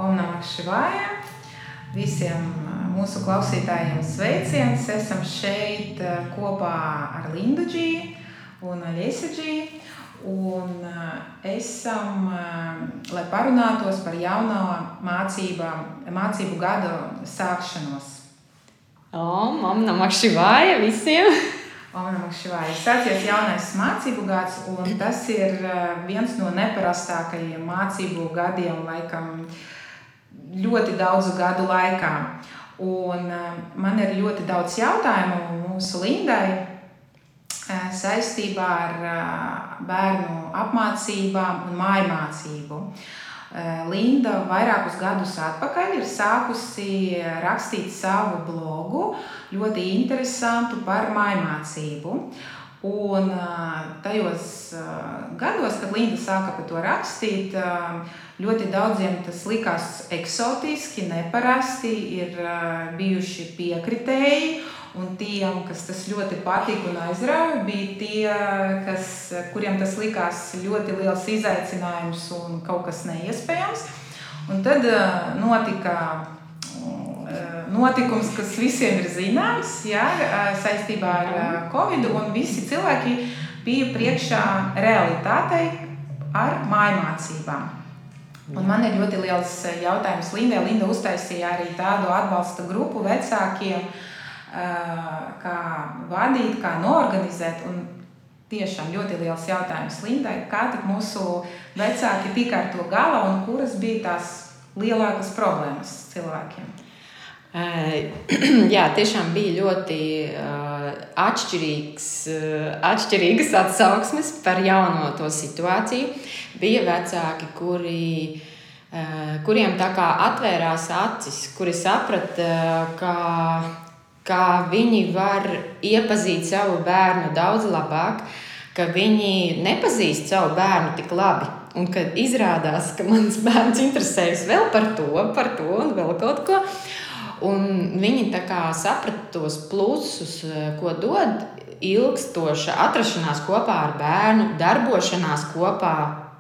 Om Namah Shivaya! Visiem mūsu klausītājiem sveiciens! Esam šeit kopā ar Lindu Dži un Aļesa Dži. Un esam, lai parunātos par jauno mācību gadu sākšanos. Om Namah Shivaya visiem! Om Namah Shivaya! Sācies jaunais mācību gads, un tas ir viens no neparastākajiem mācību gadiem, laikam, ļoti daudzu gadu laikā. Un man ir ļoti daudz jautājumu mūsu Lindai saistībā ar bērnu apmācībām un mājmācību. Linda vairākus gadus atpakaļ ir sākusi rakstīt savu blogu, ļoti interesantu par mājmācību. Un tajos gados, kad Linda sāka par to rakstīt, ļoti daudziem tas likās eksotiski, neparasti, ir bijuši piekritēji, un tiem, kas tas ļoti patika un aizrauja, bija tie, kuriem tas likās ļoti liels izaicinājums un kaut kas neiespējams. Un tad notika notikums, kas visiem ir zināms, saistībā ar Covid, un visi cilvēki bija priekšā realitātei ar mājmācībām. Un man ir ļoti liels jautājums Lindai. Linda uztaisīja arī tādu atbalsta grupu vecākiem, kā vadīt, kā noorganizēt. Un tiešām ļoti liels jautājums Lindai, kā tik mūsu vecāki tika ar to galā un kuras bija tās lielākas problēmas cilvēkiem? Jā, tiešām bija ļoti atšķirīgas atsauksmes par jauno to situāciju. Bija vecāki, kuriem tā kā atvērās acis, kuri saprata, kā viņi var iepazīt savu bērnu daudz labāk, ka viņi nepazīst savu bērnu tik labi. Un kad izrādās, ka mans bērns interesējas vēl par to un vēl kaut ko. Un viņi tā kā saprata tos plusus, ko dod ilgstoša atrašanās kopā ar bērnu, darbošanās kopā,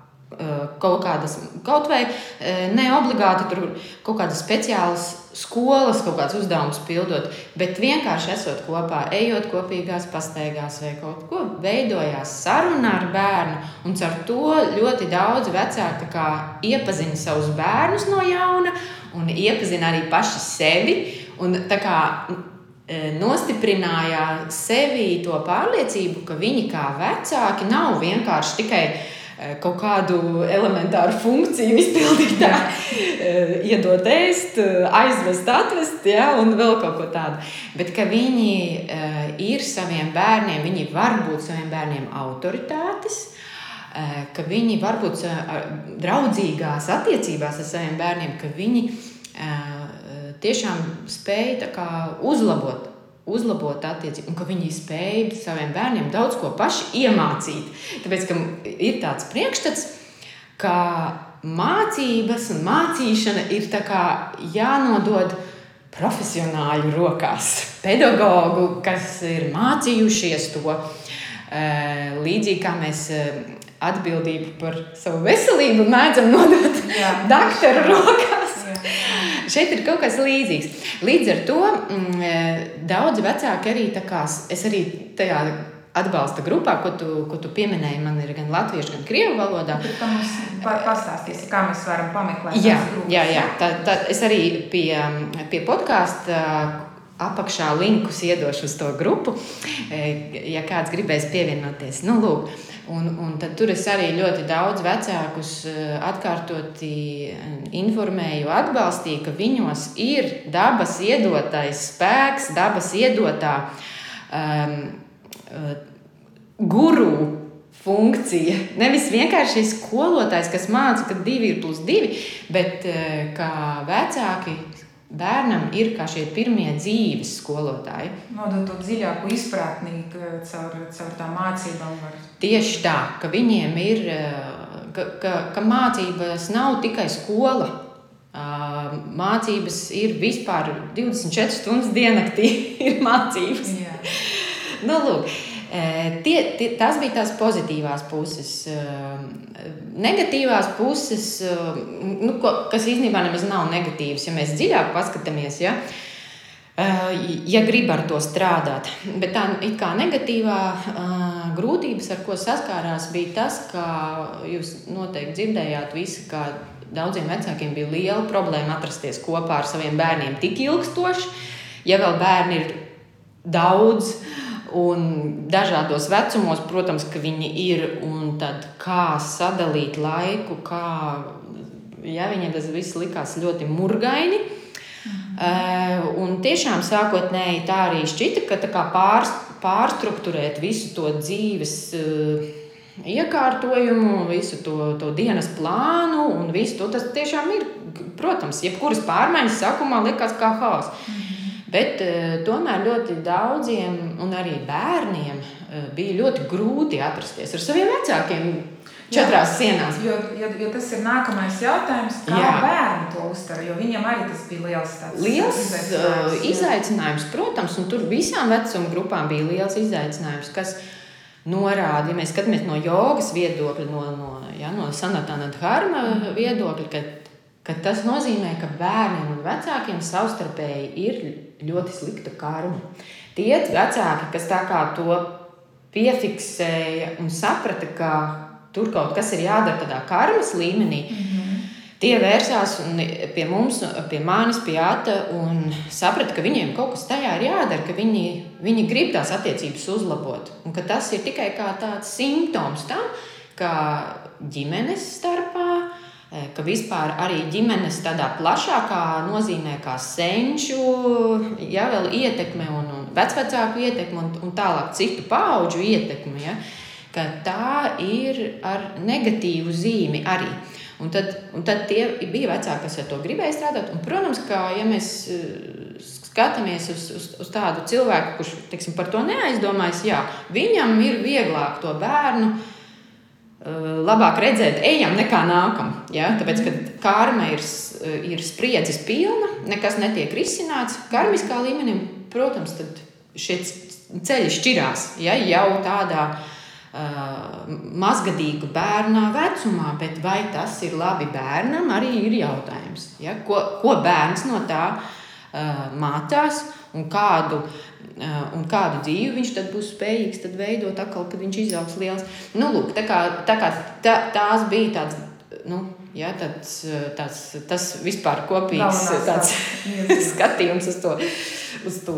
kaut vai ne obligāti tur kaut kādas speciālas skolas, kaut kāds uzdevums pildot, bet vienkārši esot kopā, ejot kopīgās pastaigās vai kaut ko, veidojās saruna ar bērnu, un caur to ļoti daudz vecāki tā kā iepazina savus bērnus no jauna, un iepazina arī paši sevi, un tā kā nostiprināja sevi to pārliecību, ka viņi kā vecāki nav vienkārši tikai kaut kādu elementāru funkciju izpildītāji, iedot ēst, aizvest, atvest, un vēl kaut ko tādu. Bet ka viņi ir saviem bērniem, viņi var būt saviem bērniem autoritātes, ka viņi var būt draudzīgās attiecībās ar saviem bērniem, ka viņi tiešām spēj tā kā uzlabot attiecību, un ka viņi spēj saviem bērniem daudz ko paši iemācīt. Tāpēc, ka ir tāds priekšstats, ka mācības un mācīšana ir tā kā jānodod profesionāļu rokās. Pedagogu, kas ir mācījušies to, līdzīgi kā mēs atbildību par savu veselību mēdzam nodot daktaru rokās. Šeit ir kaut kas līdzīgs. Līdz ar to daudzi vecāki arī tā kā, es arī tajā atbalsta grupā, ko tu pieminēji, man ir gan latviešu, gan krievu valodā. Kā mums pastāstīsi, kā mēs varam pameklēt tās grupas? Jā. Es arī pie podkāsta apakšā linkus iedošu uz to grupu, ja kāds gribēs pievienoties. Lūk. Un tad tur es arī ļoti daudz vecākus atkārtoti informēju, atbalstīju, ka viņos ir dabas iedotais spēks, dabas iedotā guru funkcija. Nevis vienkārši skolotājs, kas māca, ka 2 ir plus 2, bet kā vecāki bērnam ir kā šie pirmie dzīves skolotāji. Nodot to dziļāku izpratni caur tām mācībām. Tieši tā, ka viņiem ir, ka mācības nav tikai skola. Mācības ir vispār 24 stundas diennaktī ir mācības. Jā. Lūk, Tas bija tās pozitīvās puses. Negatīvās puses, kas īstenībā nemaz nav negatīvas, ja mēs dziļāk paskatāmies, ja grib ar to strādāt. Bet tā it kā negatīvā grūtības, ar ko saskārās, bija tas, ka jūs noteikti dzirdējāt visi, ka daudziem vecākiem bija liela problēma atrasties kopā ar saviem bērniem tik ilgstoši. Ja vēl bērni ir daudz un dažādos vecumos, protams, ka viņi ir, un tad kā sadalīt laiku, viņiem tas viss likās ļoti murgaini. Un tiešām sākotnēji tā arī šķita, ka tā kā pārstrukturēt visu to dzīves iekārtojumu, visu to dienas plānu un visu to, tas tiešām ir, protams, jebkuras pārmaiņas sākumā likās kā haoss. Bet tomēr ļoti daudziem un arī bērniem bija ļoti grūti atrasties ar saviem vecākiem 4 sienās. Jo tas ir nākamais jautājums, kā bērni to uztver, jo viņam arī tas bija liels izaicinājums, protams, un tur visām vecuma grupām bija liels izaicinājums, kas norāda, ja mēs skatāmies no jogas viedokļa, no Sanatana Dharma viedokļa, ka tas nozīmē, ka bērniem un vecākiem savstarpēji ir ļoti slikta karma. Tie vecāki, kas tā kā to piefiksēja un saprata, ka tur kaut kas ir jādara tādā karmas līmenī, tie vērsās pie mums, pie manis, pie Ata un saprata, ka viņiem kaut kas tajā ir jādara, ka viņi grib tās attiecības uzlabot. Un ka tas ir tikai kā tāds simptoms tam, ka ģimenes starpā, ka vispār arī ģimenes tādā plašākā nozīmē kā senču, vēl ietekme un vecvecāku ietekme un tālāk citu paudžu ietekme, ka tā ir ar negatīvu zīmi arī. Un tad tie bija vecāki, kas ar to gribēja strādāt. Un, protams, ka ja mēs skatāmies uz tādu cilvēku, kurš, teiksim, par to neaizdomājas, viņam ir vieglāk to bērnu labāk redzēt ejam nekā nākam. Tāpēc, kad karma ir spriedzes pilna, nekas netiek risināts karmiskā līmenī, protams, tad šie ceļi šķirās, jau tādā mazgadīgu bērnā vecumā, bet vai tas ir labi bērnam, arī ir jautājums. Ko bērns no tā mācās un kādu dzīvi viņš tad būs spējīgs tad veidot atkal, kad viņš izaugs liels. Lūk, tās bija tāds, tas vispār kopīgs tāds skatījums uz to.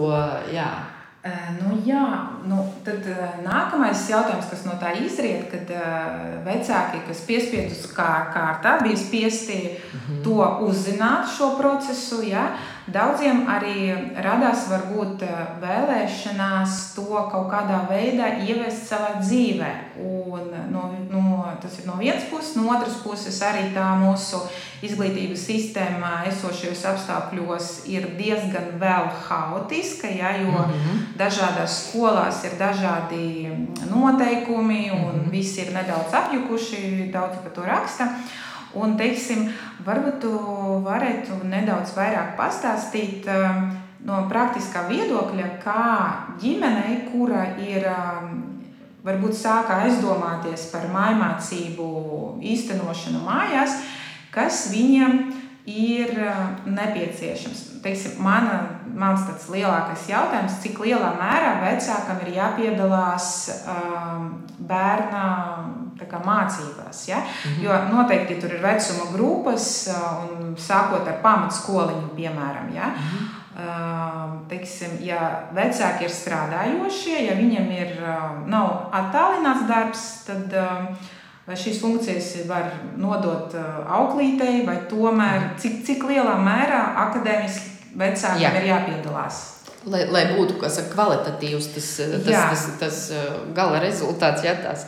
Tad nākamais jautājums, kas no tā izriet, kad vecāki, kas piespiedus kārtā, bija spiesti to uzzināt, šo procesu, daudziem arī radās varbūt vēlēšanās to kaut kādā veidā ievest savā dzīvē. Un tas ir no vienas puses, no otras puses arī tā mūsu izglītības sistēma esošajos apstākļos ir diezgan vēl haotiska, jo dažādās skolās ir dažādi noteikumi un visi ir nedaudz apjukuši, daudz par to raksta. Un, teiksim, varbūt tu varētu nedaudz vairāk pastāstīt no praktiskā viedokļa, kā ģimenei, kura ir varbūt sāka aizdomāties par mājmācību īstenošanu mājās, kas viņiem ir nepieciešams. Teiksim, mans tāds lielākais jautājums, cik lielā mērā vecākam ir jāpiedalās bērna mācībās. Jo noteikti tur ir vecuma grupas, un sākot ar pamatskoliņu, piemēram. Teiksim, ja vecāki ir strādājošie, ja viņiem nav attālināts darbs, tad vai šīs funkcijas var nodot auklītei, vai tomēr cik lielā mērā akadēmiski vecākiem ir jāpiedalās? Lai būtu kvalitatīvs tas gala rezultāts.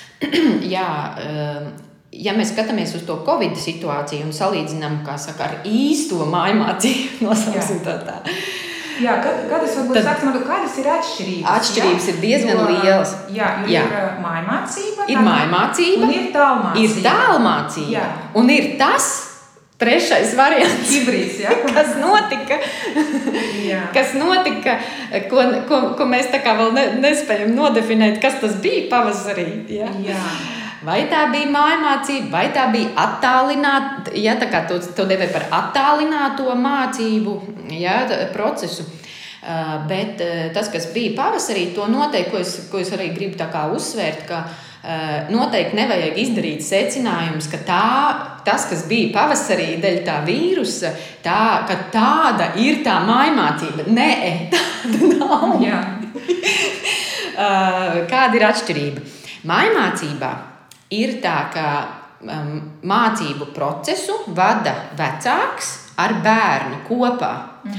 Ja mēs skatāmies uz to Covid situāciju un salīdzinām, ar īsto mājmācību, nosauksim tā. Kādas varbūt sāksim ar to, kādas ir atšķirības? Atšķirības ir diezgan lielas. Ir mājmācība. Ir mājmācība. Un ir tālmācība. Ir tālmācība. Un ir tas, trešais variants. Hibrīds, ja? Kas notika, ko mēs tā kā vēl nespējam nodefinēt, kas tas bija pavasarī. Ja? Jā. Vai tā bija mājmācība, vai tā bija attālināta, ja tā kā to devē par attālināto mācību, ja, procesu. Bet tas, kas bija pavasarī, to noteikti, ko es arī gribu tā kā uzsvērt, ka noteikti nevajag izdarīt secinājumus, ka tas, kas bija pavasarī dēļ tā vīrusa, ka tāda ir tā mājmācība. Nē, tāda nav. Jā. Kāda ir atšķirība? Mājmācībā ir tā, ka mācību procesu vada vecāks ar bērnu kopā.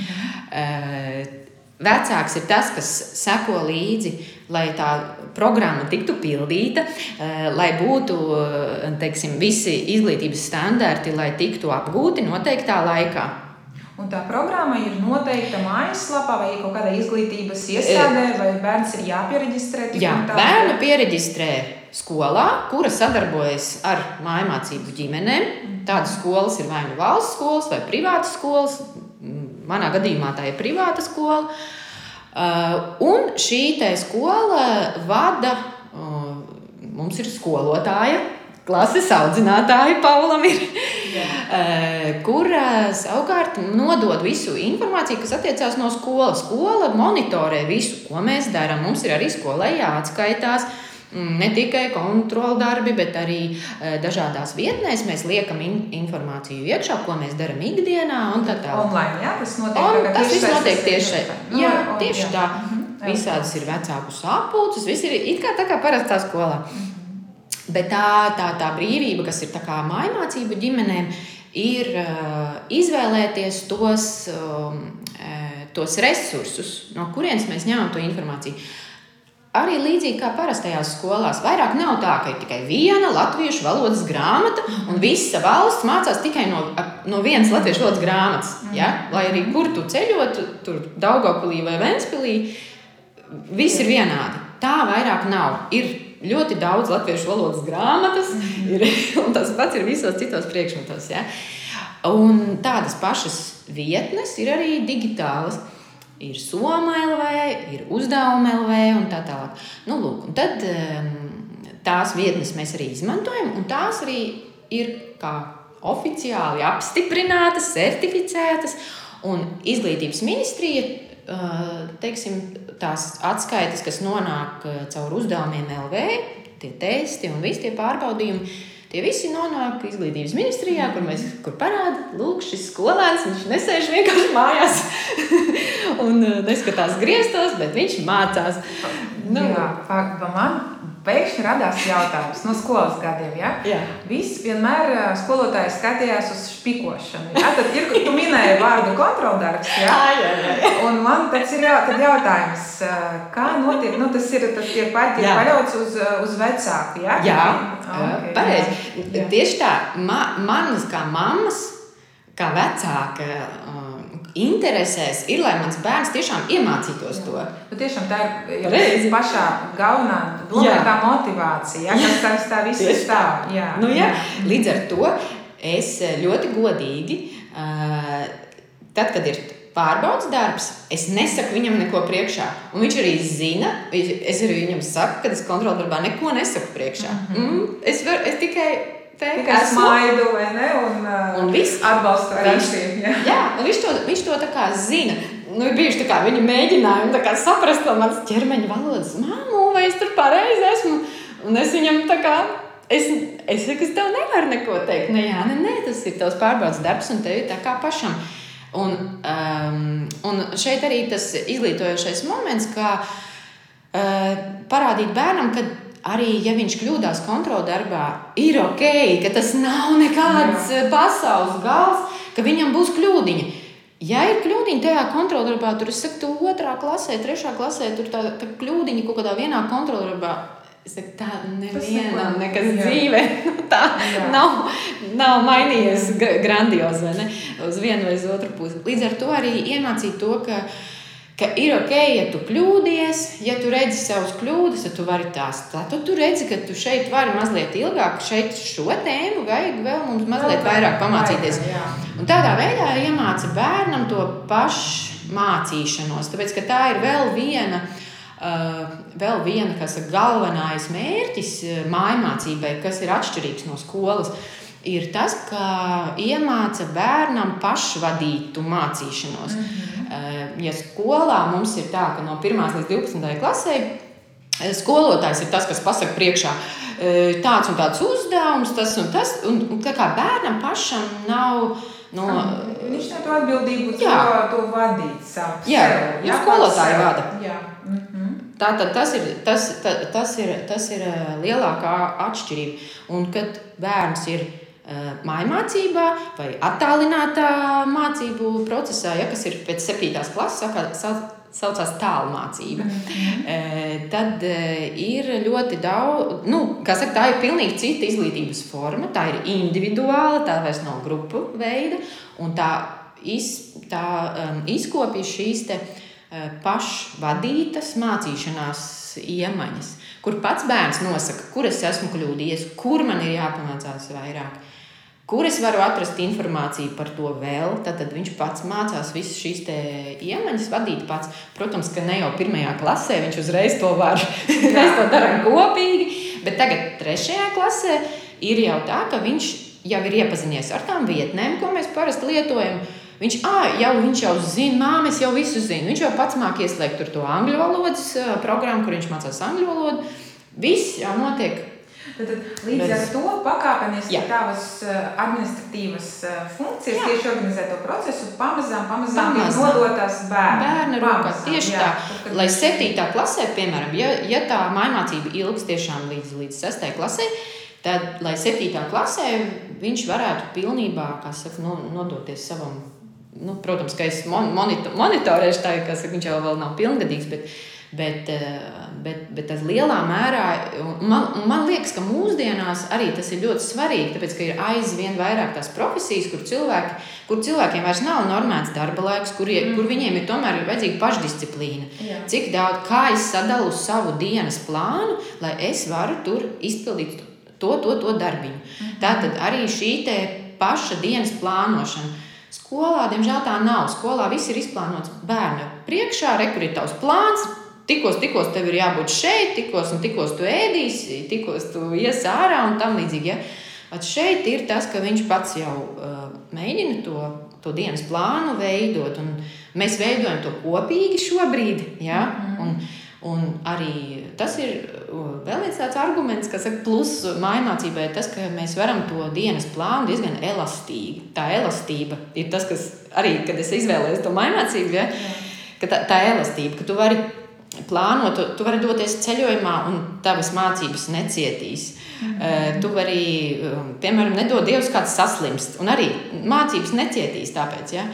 Vecāks ir tas, kas seko līdzi, lai tā programma tiktu pildīta, lai būtu, teiksim, visi izglītības standarti, lai tiktu apgūti noteiktā laikā. Un tā programma ir noteikta mājaslapā vai kaut kādā izglītības iestādē, vai bērns ir jāpiereģistrē? Jā, bērnu piereģistrē skolā, kura sadarbojas ar mājmācību ģimenēm. Tādas skolas ir vai nu valsts skolas vai privātas skolas. Manā gadījumā tā ir privāta skola. Un šī skola vada, mums ir skolotāja, klases audzinātāja Paulam ir, kura savukārt nodod visu informāciju, kas attiecās no skolas. Skola monitorē visu, ko mēs darām. Mums ir arī skolai jāatskaitās. Ne tikai kontroldarbi, bet arī dažādās vietnēs mēs liekam informāciju iekšā, ko mēs darām ikdienā un tā tālāk. Online, jā? Tas notiek, tas viss notiek tieši jā, tieši tā. Visādas ir vecāku sapulces, viss ir it kā tā kā parastā skolā. Bet tā brīvība, kas ir tā kā mājmācību ģimenēm, ir izvēlēties tos resursus, no kurienes mēs ņemam to informāciju. Arī līdzīgi kā parastajās skolās, vairāk nav tā, ka ir tikai viena latviešu valodas grāmata un visa valsts mācās tikai no vienas latviešu valodas grāmatas. Ja? Lai arī kur tu ceļot, tur Daugavpilī vai Ventspilī, viss ir vienādi. Tā vairāk nav. Ir ļoti daudz latviešu valodas grāmatas, un tas pats ir visos citos priekšmetos. Ja? Un tādas pašas vietnes ir arī digitālas. Ir Soma LV, ir Uzdevuma LV un tā tālāk. Nu, lūk, un tad tās vietnes mēs arī izmantojam, un tās arī ir kā oficiāli apstiprinātas, certificētas, un Izglītības ministrija, teiksim, tās atskaites, kas nonāk caur Uzdevumiem LV, tie testi un visi tie pārbaudījumi, tie visi nonāk Izglītības ministrijā, kur parāda, lūk, šis skolēns, viņš nesēž vienkārši mājās un neskatās griestos, bet viņš mācās. Jā, man pēkšņi radās jautājums no skolas gadiem, ja? Jā. Viss vienmēr skolotāji skatījās uz špikošanu. Ja? Tad tu minēji vārdu kontroldarbs, ja? Jā. Un man tad ir jautājums, kā notiek, tas tiek paļauts uz vecāku, ja? Jā, pareizi. Tieši tā, manas kā mammas, kā vecāka interesēs ir, lai mans bērns tiešām iemācītos to. Tiešām tā ir pašā galvenā doma, tā motivācija, kas tā viss stāv. Jā. Līdz ar to es ļoti godīgi, tad, kad ir pārbaudas darbs, es nesaku viņam neko priekšā. Un viņš arī zina, es arī viņam saku, kad es kontroldarbā neko nesaku priekšā. Es tikai smaidu, vai ne? Un atbalstu rakstību. Jā, un viņš to tā kā zina. Ir bijuši tā kā viņi mēģinājumi tā kā saprast to manas ķermeņa valodas. Māmu, vai es tur pareizi esmu? Un es viņam tā kā, es saku, es tev nevaru neko teikt. Nē, tas ir tavs pārbaudas darbs un tev ir tā kā pašam. Un šeit arī tas izglītojošais moments, kā parādīt bērnam, ka arī, ja viņš kļūdās kontroldarbā, ir ok, ka tas nav nekāds pasaules gals, ka viņam būs kļūdiņa. Ja ir kļūdiņa tajā kontroldarbā, tur es saku, tu 2. klasē, 3. klasē, tur tā kļūdiņa kaut kādā vienā kontroldarbā, es saku, tā nevienam nekas dzīvē, tā nav mainījies grandiozi, vai ne, uz vienu vai uz otru pusi. Līdz ar to arī iemācīt to, ka ka ir ok, ja tu kļūdies, ja tu redzi savus kļūdas, tad tu vari tās. Tad tu redzi, ka tu šeit vari mazliet ilgāk, šeit šo tēmu vajag vēl mums mazliet vairāk pamācīties. Un tādā veidā iemāca bērnam to pašmācīšanos, tāpēc, ka tā ir vēl viena, kas ir galvenais mērķis mājmācībai, kas ir atšķirīgs no skolas, ir tas, ka iemāca bērnam pašvadītu mācīšanos. Ja skolā mums ir tā, ka no 1. līdz 12. klasē skolotājs ir tas, kas pasaka priekšā tāds un tāds uzdevums, tas un tas, un kā bērnam pašam nav... Viņš ne to atbildību to vadīt savu sev. Jā, skolotāji vada. Jā. Tātad tas ir lielākā atšķirība. Un kad bērns ir mājmācībā vai attālinātā mācību procesā, kas ir pēc 7. klases, saucās tālmācība, tad ir ļoti daudz, tā ir pilnīgi cita izglītības forma, tā ir individuāla, tā vairs nav grupu veida, un tā izkopja šīs te pašvadītas mācīšanās iemaņas, kur pats bērns nosaka, kur es esmu kļūdījies, kur man ir jāpamācās vairāk, kur es varu atrast informāciju par to vēl, tad viņš pats mācās visas šīs te iemaņas vadīt pats. Protams, ka ne jau 1. klasē viņš uzreiz to var, mēs to darām kopīgi, bet tagad 3. klasē ir jau tā, ka viņš jau ir iepazinies ar tām vietnēm, ko mēs parasti lietojam. Viņš jau zina, māma, es jau visu zinu. Viņš jau pats māk ieslēgt tur to angļu valodas programmu, kur viņš mācās angļu valodu. Viss jau notiek. Tad līdz ar to pakāpeniski tavas administratīvas funkcijas tieši organizē to procesu, pamazām ir nodotās bērna rokās. Tieši tā, lai 7. klasē, piemēram, ja tā mājmācība ilgs tiešām līdz 6. klasē, tad, lai 7. klasē viņš varētu pilnībā, nodoties savam, protams, ka es monitorēšu tā, viņš jau vēl nav pilngadīgs, bet tas lielā mērā, man liekas, ka mūsdienās arī tas ir ļoti svarīgi, tāpēc, ka ir aizvien vairāk tās profesijas, kur cilvēkiem vairs nav normēts darba laiks, kur viņiem ir tomēr vajadzīga pašdisciplīna. Jā. Cik daudz, kā es sadalu savu dienas plānu, lai es varu tur izpildīt to darbiņu. Tātad arī šī te paša dienas plānošana. Skolā, diemžēl tā nav. Skolā viss ir izplānots bērna priekšā, kur ir tavs plāns, tikos tev ir jābūt šeit, tikos tu ēdīsi, tikos tu ies ārā un tam līdzīgi. Ja? Šeit ir tas, ka viņš pats jau mēģina to dienas plānu veidot, un mēs veidojam to kopīgi šobrīd. Ja? Un arī tas ir vēl viens tāds arguments, kas saka, plus mājmācībai tas, ka mēs varam to dienas plānu diezgan elastīgi. Tā elastība ir tas, kas arī, kad es izvēlējos to mājmācību, ja? Ka tā elastība, ka tu vari plānot, tu vari doties ceļojumā un tavas mācības necietīs. Tu vari, piemēram, nedod Dievs kāds saslimst, un arī mācības necietīs tāpēc, ja?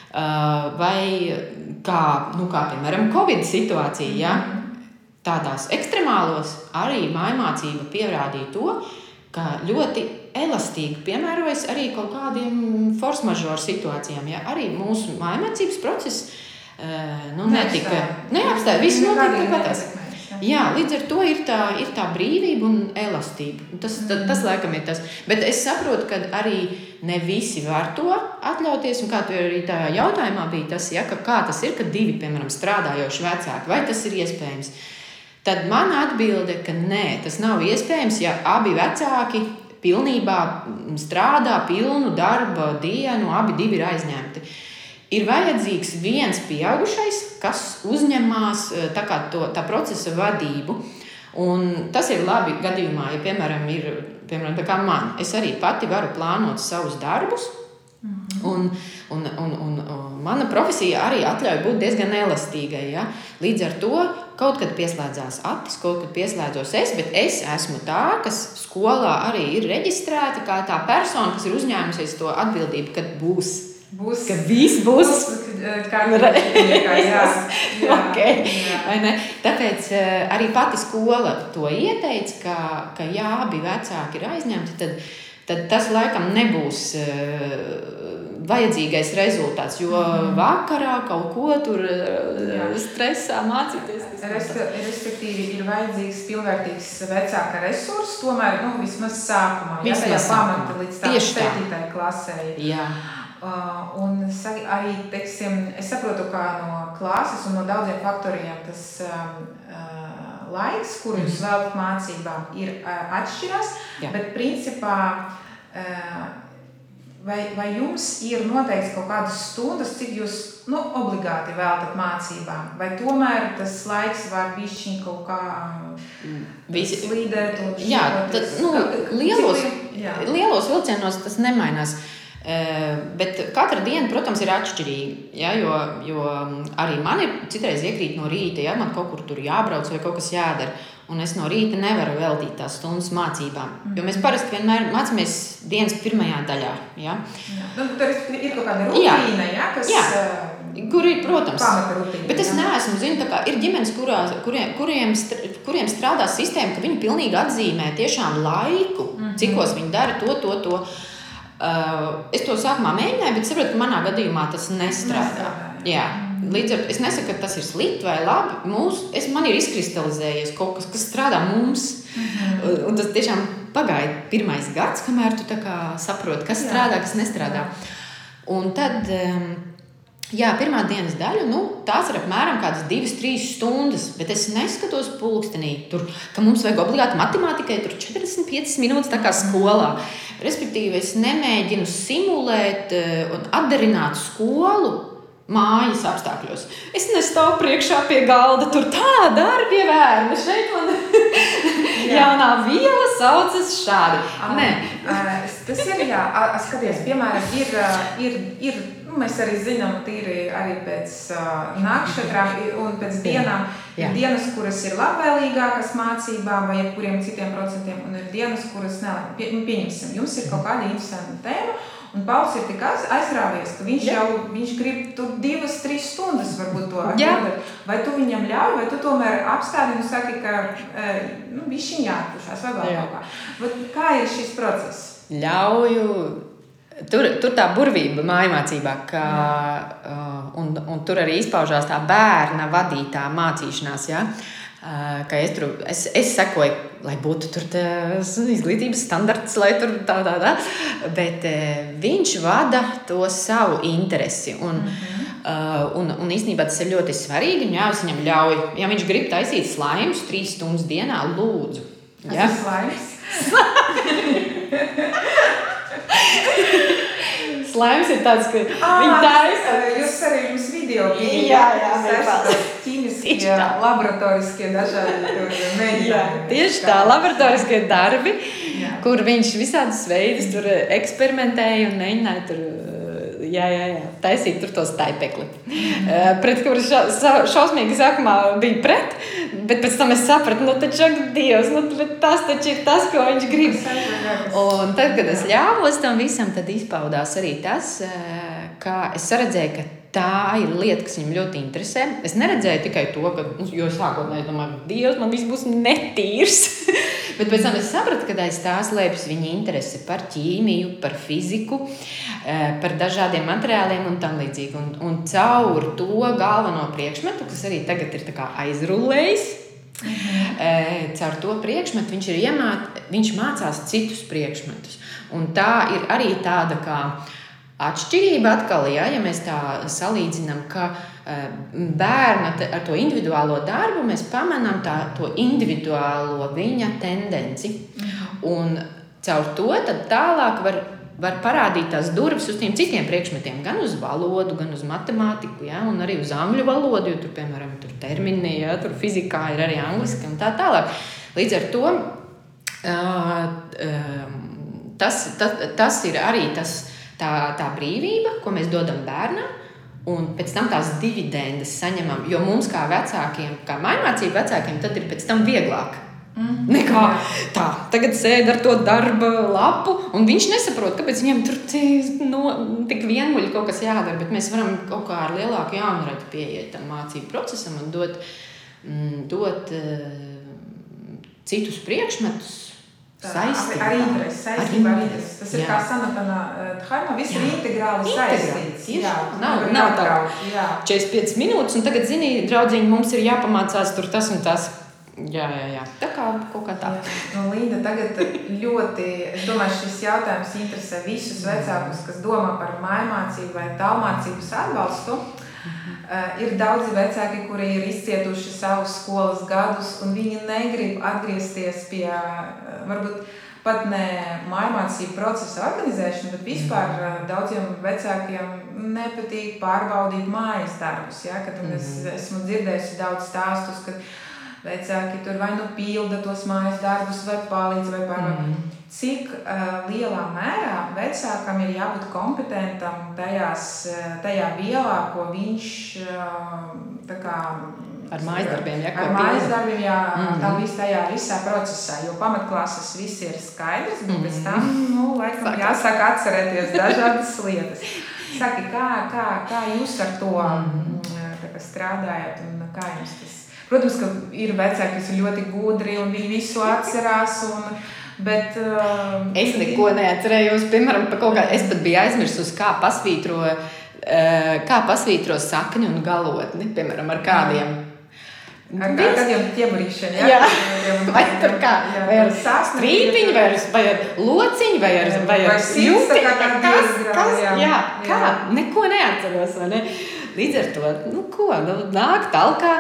Vai kā piemēram, Covid situācija, ja? Tādās ekstremālos arī mājmācība pierādīja to, ka ļoti elastīgi piemērojas arī kaut kādiem force majeure situācijām, ja? Arī mūsu mājmācības process neapstāja. Viss notika tāpēc. Jā, līdz ar to ir tā brīvība un elastība. Tas laikam ir tas. Bet es saprotu, ka arī ne visi var to atļauties. Un kā tu arī tajā jautājumā bija tas, ja, kā tas ir, kad 2, piemēram, strādājoši vecāki. Vai tas ir iespējams? Tad mana atbilde, ka nē, tas nav iespējams, ja abi vecāki pilnībā strādā pilnu darba dienu, abi 2 ir aizņemti. Ir vajadzīgs viens pieaugušais, kas uzņemās tā procesa vadību. Un tas ir labi gadījumā, ja, piemēram, tā kā man. Es arī pati varu plānot savus darbus. Un mana profesija arī atļauj būt diezgan elastīgai. Ja? Līdz ar to kaut kad pieslēdzās Atis, kaut kad pieslēdzos es, bet es esmu tā, kas skolā arī ir reģistrēta kā tā persona, kas ir uzņēmusies to atbildību, kad būs. Ka viss būs kā jā. Okay. Vai ne? Tāpēc arī pati skola to ieteica, ka ja abi vecāki ir aizņemti, tad tas laikam nebūs vajadzīgais rezultāts, jo vakarā kaut ko tur stresā mācīties. Respektīvi, ir vajadzīgs pilnvērtīgs vecāka resurss, tomēr vismaz sākumā, tajā pamata līdz tā 7. klasē. Jā. Un arī, teiksim, es saprotu, kā no klases un no daudziem faktoriem tas laiks, kuru jūs veltat mācībām, ir atšķirās, bet principā vai jums ir noteikts kaut kādas stundas, cik jūs obligāti veltat mācībām, vai tomēr tas laiks var bišķiņ kaut kā slīdēt un lielos vilcienos tas nemainās. Bet katra diena, protams, ir atšķirīga, ja, jo arī man ir citreiz iekrīt no rīta, ja man kaut kur tur jābrauc vai kaut kas jādara, un es no rīta nevaru veltīt tās stundas mācībām, jo mēs parasti vienmēr mācāmies dienas pirmajā daļā. Ja. Tur ir kaut kāda rutīna, kas... Kur ir, protams, rutīna, bet es neesmu, zinu, tā kā ir ģimenes, kuriem strādā sistēma, ka viņi pilnīgi atzīmē tiešām laiku, cikos viņi dara to. Es to sākumā mēģināju, bet saprotu, ka manā gadījumā tas nestrādā. Jā. Līdz ar es nesaku, ka tas ir slikti vai labi. Man ir izkristalizējies kaut kas, kas strādā mums. Un tas tiešām pagāja 1. gads, kamēr tu tā kā saproti, kas strādā, kas nestrādā. Un tad, pirmā dienas daļa, tās ir apmēram kādas 2-3 stundas, bet es neskatos pulkstenī, ka mums vajag obligāti matemātikai 45 minūtes tā kā skolā. Respektīvi, es nemēģinu simulēt un atdarināt skolu mājas apstākļos. Es nestāvu priekšā pie galda, tur tā darbi vērni, šeit man jaunā viela saucas šādi. Nē. Tas ir, skaties, piemēram, ir mēs arī zinām, tīri arī pēc nakšķetrām un pēc dienām. Ir dienas, kuras ir labvēlīgākas mācībām vai jebkuriem citiem procentiem, un ir dienas, kuras pieņemsim. Jums ir kaut kāda interesanta tēma, un Pauls ir tik aizrāvies, ka viņš grib tur 2-3 stundas varbūt to atbildēt. Vai tu viņam ļauj, vai tu tomēr apstādi un saki, ka bišķiņ jāatpušās vai vēl kaut kā. Kā ir šis process? Ļauju. Tur tā burvība mājmācībā, un tur arī izpaužās tā bērna vadītā mācīšanās, ja? Ka es sekoju, lai būtu tur izglītības standarts, lai tur tā, bet viņš vada to savu interesi, un īstenībā tas ir ļoti svarīgi, un es viņam ļauju, ja viņš grib taisīt slaimus 3 stundas dienā, lūdzu. Ja? Tas ir slaims? Slaims ir tāds, ka viņi taisa. Jūs arī jums video bija. Jā, ķīmiskie, laboratoriskie dažādi mēģinājumi. Tieši tā, laboratoriskie darbi, kur viņš visādas veidus tur eksperimentēja un mēģināja tur taisīt tur to staipekli. Pret kuru šausmīgi sākumā bija pret, bet pēc tam es sapratu, taču, Dievs, bet tas taču ir tas, ko viņš grib. Un tad, kad es ļāvos tam visam, tad izpaudās arī tas, ka es redzēju, ka tā ir lieta, kas viņam ļoti interesē. Es neredzēju tikai to, jo sākotnēji domāju, Dievs, man viss būs netīrs. Bet pēc tam es sapratu, ka aiz tā slēpjas viņa interese par ķīmiju, par fiziku, par dažādiem materiāliem un tam līdzīgi. Un caur to galveno priekšmetu, kas arī tagad ir tā kā aizrullējis, caur to priekšmetu viņš mācās citus priekšmetus. Un tā ir arī tāda kā atšķirība atkal, ja mēs tā salīdzinām, ka bērna ar to individuālo darbu mēs pamanām to individuālo viņa tendenci. Un caur to tad tālāk var parādīt tās durvis uz tiem citiem priekšmetiem, gan uz valodu, gan uz matemātiku, ja, un arī uz angļu valodu, jo tur, piemēram, tur termini, ja, tur fizikā ir arī angliski un tā tālāk. Līdz ar to tas ir arī tā brīvība, ko mēs dodam bērnam, un pēc tam tās dividendes saņemam, jo mums kā vecākiem, kā mājmācību vecākiem, tad ir pēc tam vieglāk. Nekā tā, tagad sēd ar to darba lapu, un viņš nesaprot, kāpēc viņam tur tik vienmuļi kaut kas jādara, bet mēs varam kaut kā ar lielāku jaunradu pieiet tam mācību procesam un dot citus priekšmetus, Ar interesi, saistība ar interesi. Tas ir kā Sanatana Dharma, viss ir integrāli saistīts. Nav tā 45 minūtes, un tagad, zini, draudziņi, mums ir jāpamācās tur tas un tas. Jā. Tā kā kaut kā tā. Līda, tagad ļoti, es domāju, šis jautājums interesē visus vecākus, kas domā par mājmācību vai tālmācības atbalstu. Ir daudzi vecāki, kuri ir izcietuši savus skolas gadus, un viņi negrib atgriezties pie, varbūt pat ne mājmācību procesa organizēšanu, bet vispār daudziem vecākiem nepatīk pārbaudīt mājas darbus. Ja? Kad es esmu dzirdējusi daudz stāstus, kad vecāki tur vai nu pilda tos mājas darbus, vai palīdz, vai pārbauda. Cik lielā mērā vecākam ir jābūt kompetentam tajā vielā, ko viņš ar mājasdarbiem, tā tajā visā procesā, jo pamatklases viss ir skaidrs, bet pēc tam, laikam jāsāk atcerēties dažādas lietas. Saki, kā jūs ar to strādājat un kā jums tas? Protams, ka ir vecāki, kas ir ļoti gudri un viņi visu atcerās, bet es neko neatcerējos, piemēram, es pat biju aizmirsus, kā pasvītro sakni un galotni, piemēram, ar kādiem. Ar kādiem ķeburīšiem, jā? Vai tur kā? Vai ar strīpiņu, vai ar lociņu, vai ar silti? Kā? Neko neatceros, vai ne? Līdz ar to, nāk talkā,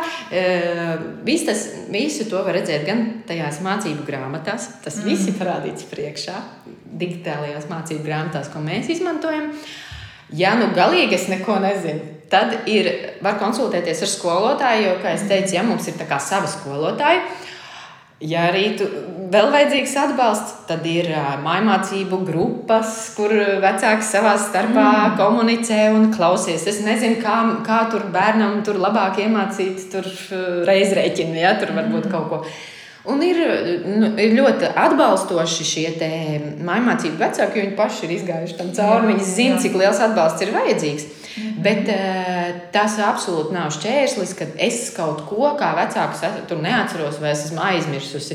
visu to var redzēt gan tajās mācību grāmatās, tas viss ir parādīts priekšā, digitālajās mācību grāmatās, ko mēs izmantojam. Ja galīgi es neko nezinu, tad var konsultēties ar skolotāju, jo, kā es teicu, mums ir tā kā sava skolotāja. Ja arī vēl vajadzīgs atbalsts, tad ir mājmācību grupas, kur vecāki savā starpā komunicē un klausies. Es nezinu, kā tur bērnam tur labāk iemācīt tur reizrēķinu, ja, tur varbūt kaut ko. Un ir ļoti atbalstoši šie te mājmācību vecāki, jo viņi paši ir izgājuši tam cauri, viņi zina, cik liels atbalsts ir vajadzīgs. Bet tas absolūti nav šķērslis, kad es kaut ko kā vecāks tur neatceros vai es esmu aizmirsusi.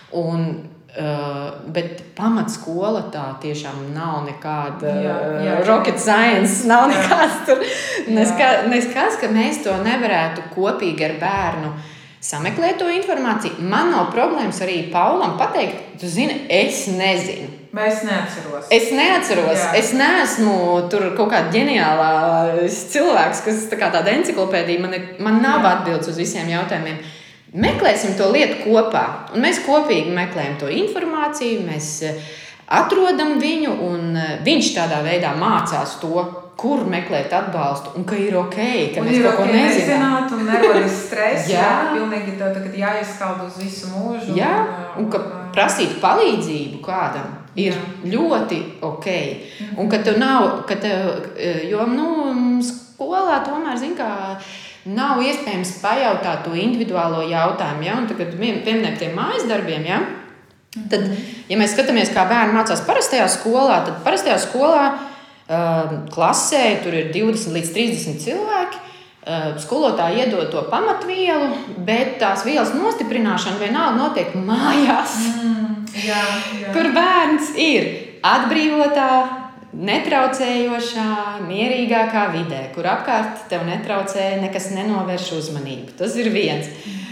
Bet pamatskola tā tiešām nav nekāda rocket science, nav nekāds tur. Neskaidrs, ka mēs to nevarētu kopīgi ar bērnu sameklēt to informāciju. Man nav problēmas arī Paulam pateikt, tu zini, es nezinu. Es neatceros. Es neesmu tur kaut kāda ģeniālā cilvēks, kas tā kā tāda enciklopēdija, man nav atbildes uz visiem jautājumiem. Meklēsim to lietu kopā, un mēs kopīgi meklējam to informāciju, mēs atrodam viņu, un viņš tādā veidā mācās to, kur meklēt atbalstu, un ka ir ok, ka mēs kaut ko nezināt. Nezināt, un nerodas stress, pilnīgi tev tagad jāieskald uz visu mūžu. Jā, un ka prasīt palīdzību kādam ir ļoti ok. Un ka tev nav, jo, skolā tomēr, zin kā, nav iespējams pajautāt to individuālo jautājumu, ja? Un tagad pieminēt tiem mājas darbiem, ja? Tad, ja mēs skatāmies, kā bērni mācās parastajā skolā, tad parastajā skolā klasē tur ir 20 līdz 30 cilvēki. Skolotāji iedod to pamatvielu, bet tās vielas nostiprināšana vienalga notiek mājās. Kur bērns ir atbrīvotā, netraucējošā, mierīgākā vidē, kur apkārt tev netraucē, nekas nenovērš uzmanību. Tas ir viens.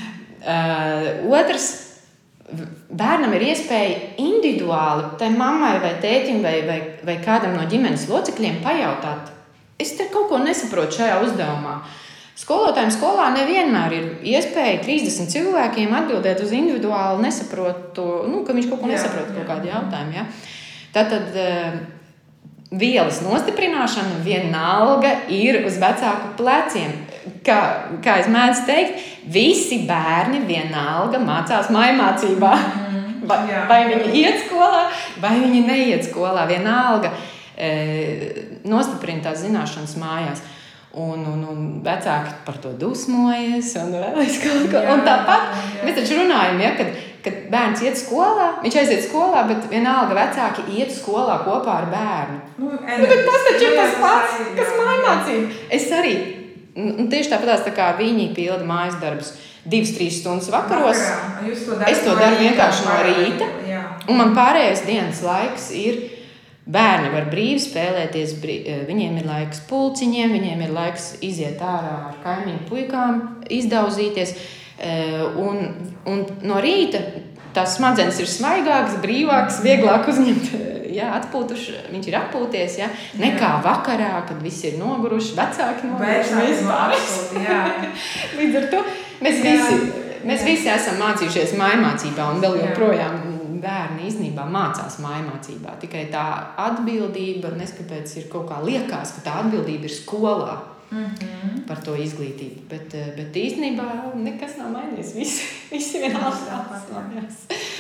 Otrs, bērnam ir iespēja individuāli tai mammai vai tētim vai kādam no ģimenes locekļiem pajautāt. Es te kaut ko nesaprotu šajā uzdevumā. Skolotājiem skolā nevienmēr ir iespēja 30 cilvēkiem atbildēt uz individuāli nesaprotu, ka viņš kaut ko nesaprot kaut kādu jautājumu. Ja? Tātad vielas nostiprināšana vienalga ir uz vecāku pleciem. Kā es mēdzu teikt, visi bērni vienalga mācās mājmācībā. Vai viņi iet skolā, vai viņi neiet skolā. Vienalga nostiprina tās zināšanas mājās. Un vecāki par to dusmojas un vēl kaut ko. Un tāpat mēs taču runājam, ja, kad bērns iet skolā, viņš aiziet skolā, bet vienalga vecāki iet skolā kopā ar bērnu. Bet tas taču ir tas pats, kas mājmācība. Es arī, tieši tāpatās tā kā viņi pilda mājas darbus 2-3 stundas vakaros. Es to daru vienkārši no rīta. Un man pārējais dienas laiks ir bērni var brīvi spēlēties, viņiem ir laiks pulciņiem, viņiem ir laiks iziet ārā ar kaimiņu puikām, izdauzīties. Un no rīta tās smadzenes ir smaigākas, brīvākas, vieglāk uzņemt, atpūtuši, viņš ir atpūties, nekā vakarā, kad visi ir noguruši, vecāki noguruši. Līdz ar to mēs visi esam mācījušies mājmācībā un vēl joprojām bērni īstenībā mācās mājmācībā. Tikai tā atbildība, neskapēc ir kaut kā liekas, ka tā atbildība ir skolā. Par to izglītību, bet īstenībā nekas nav mainījies. Visi vienalga mājās.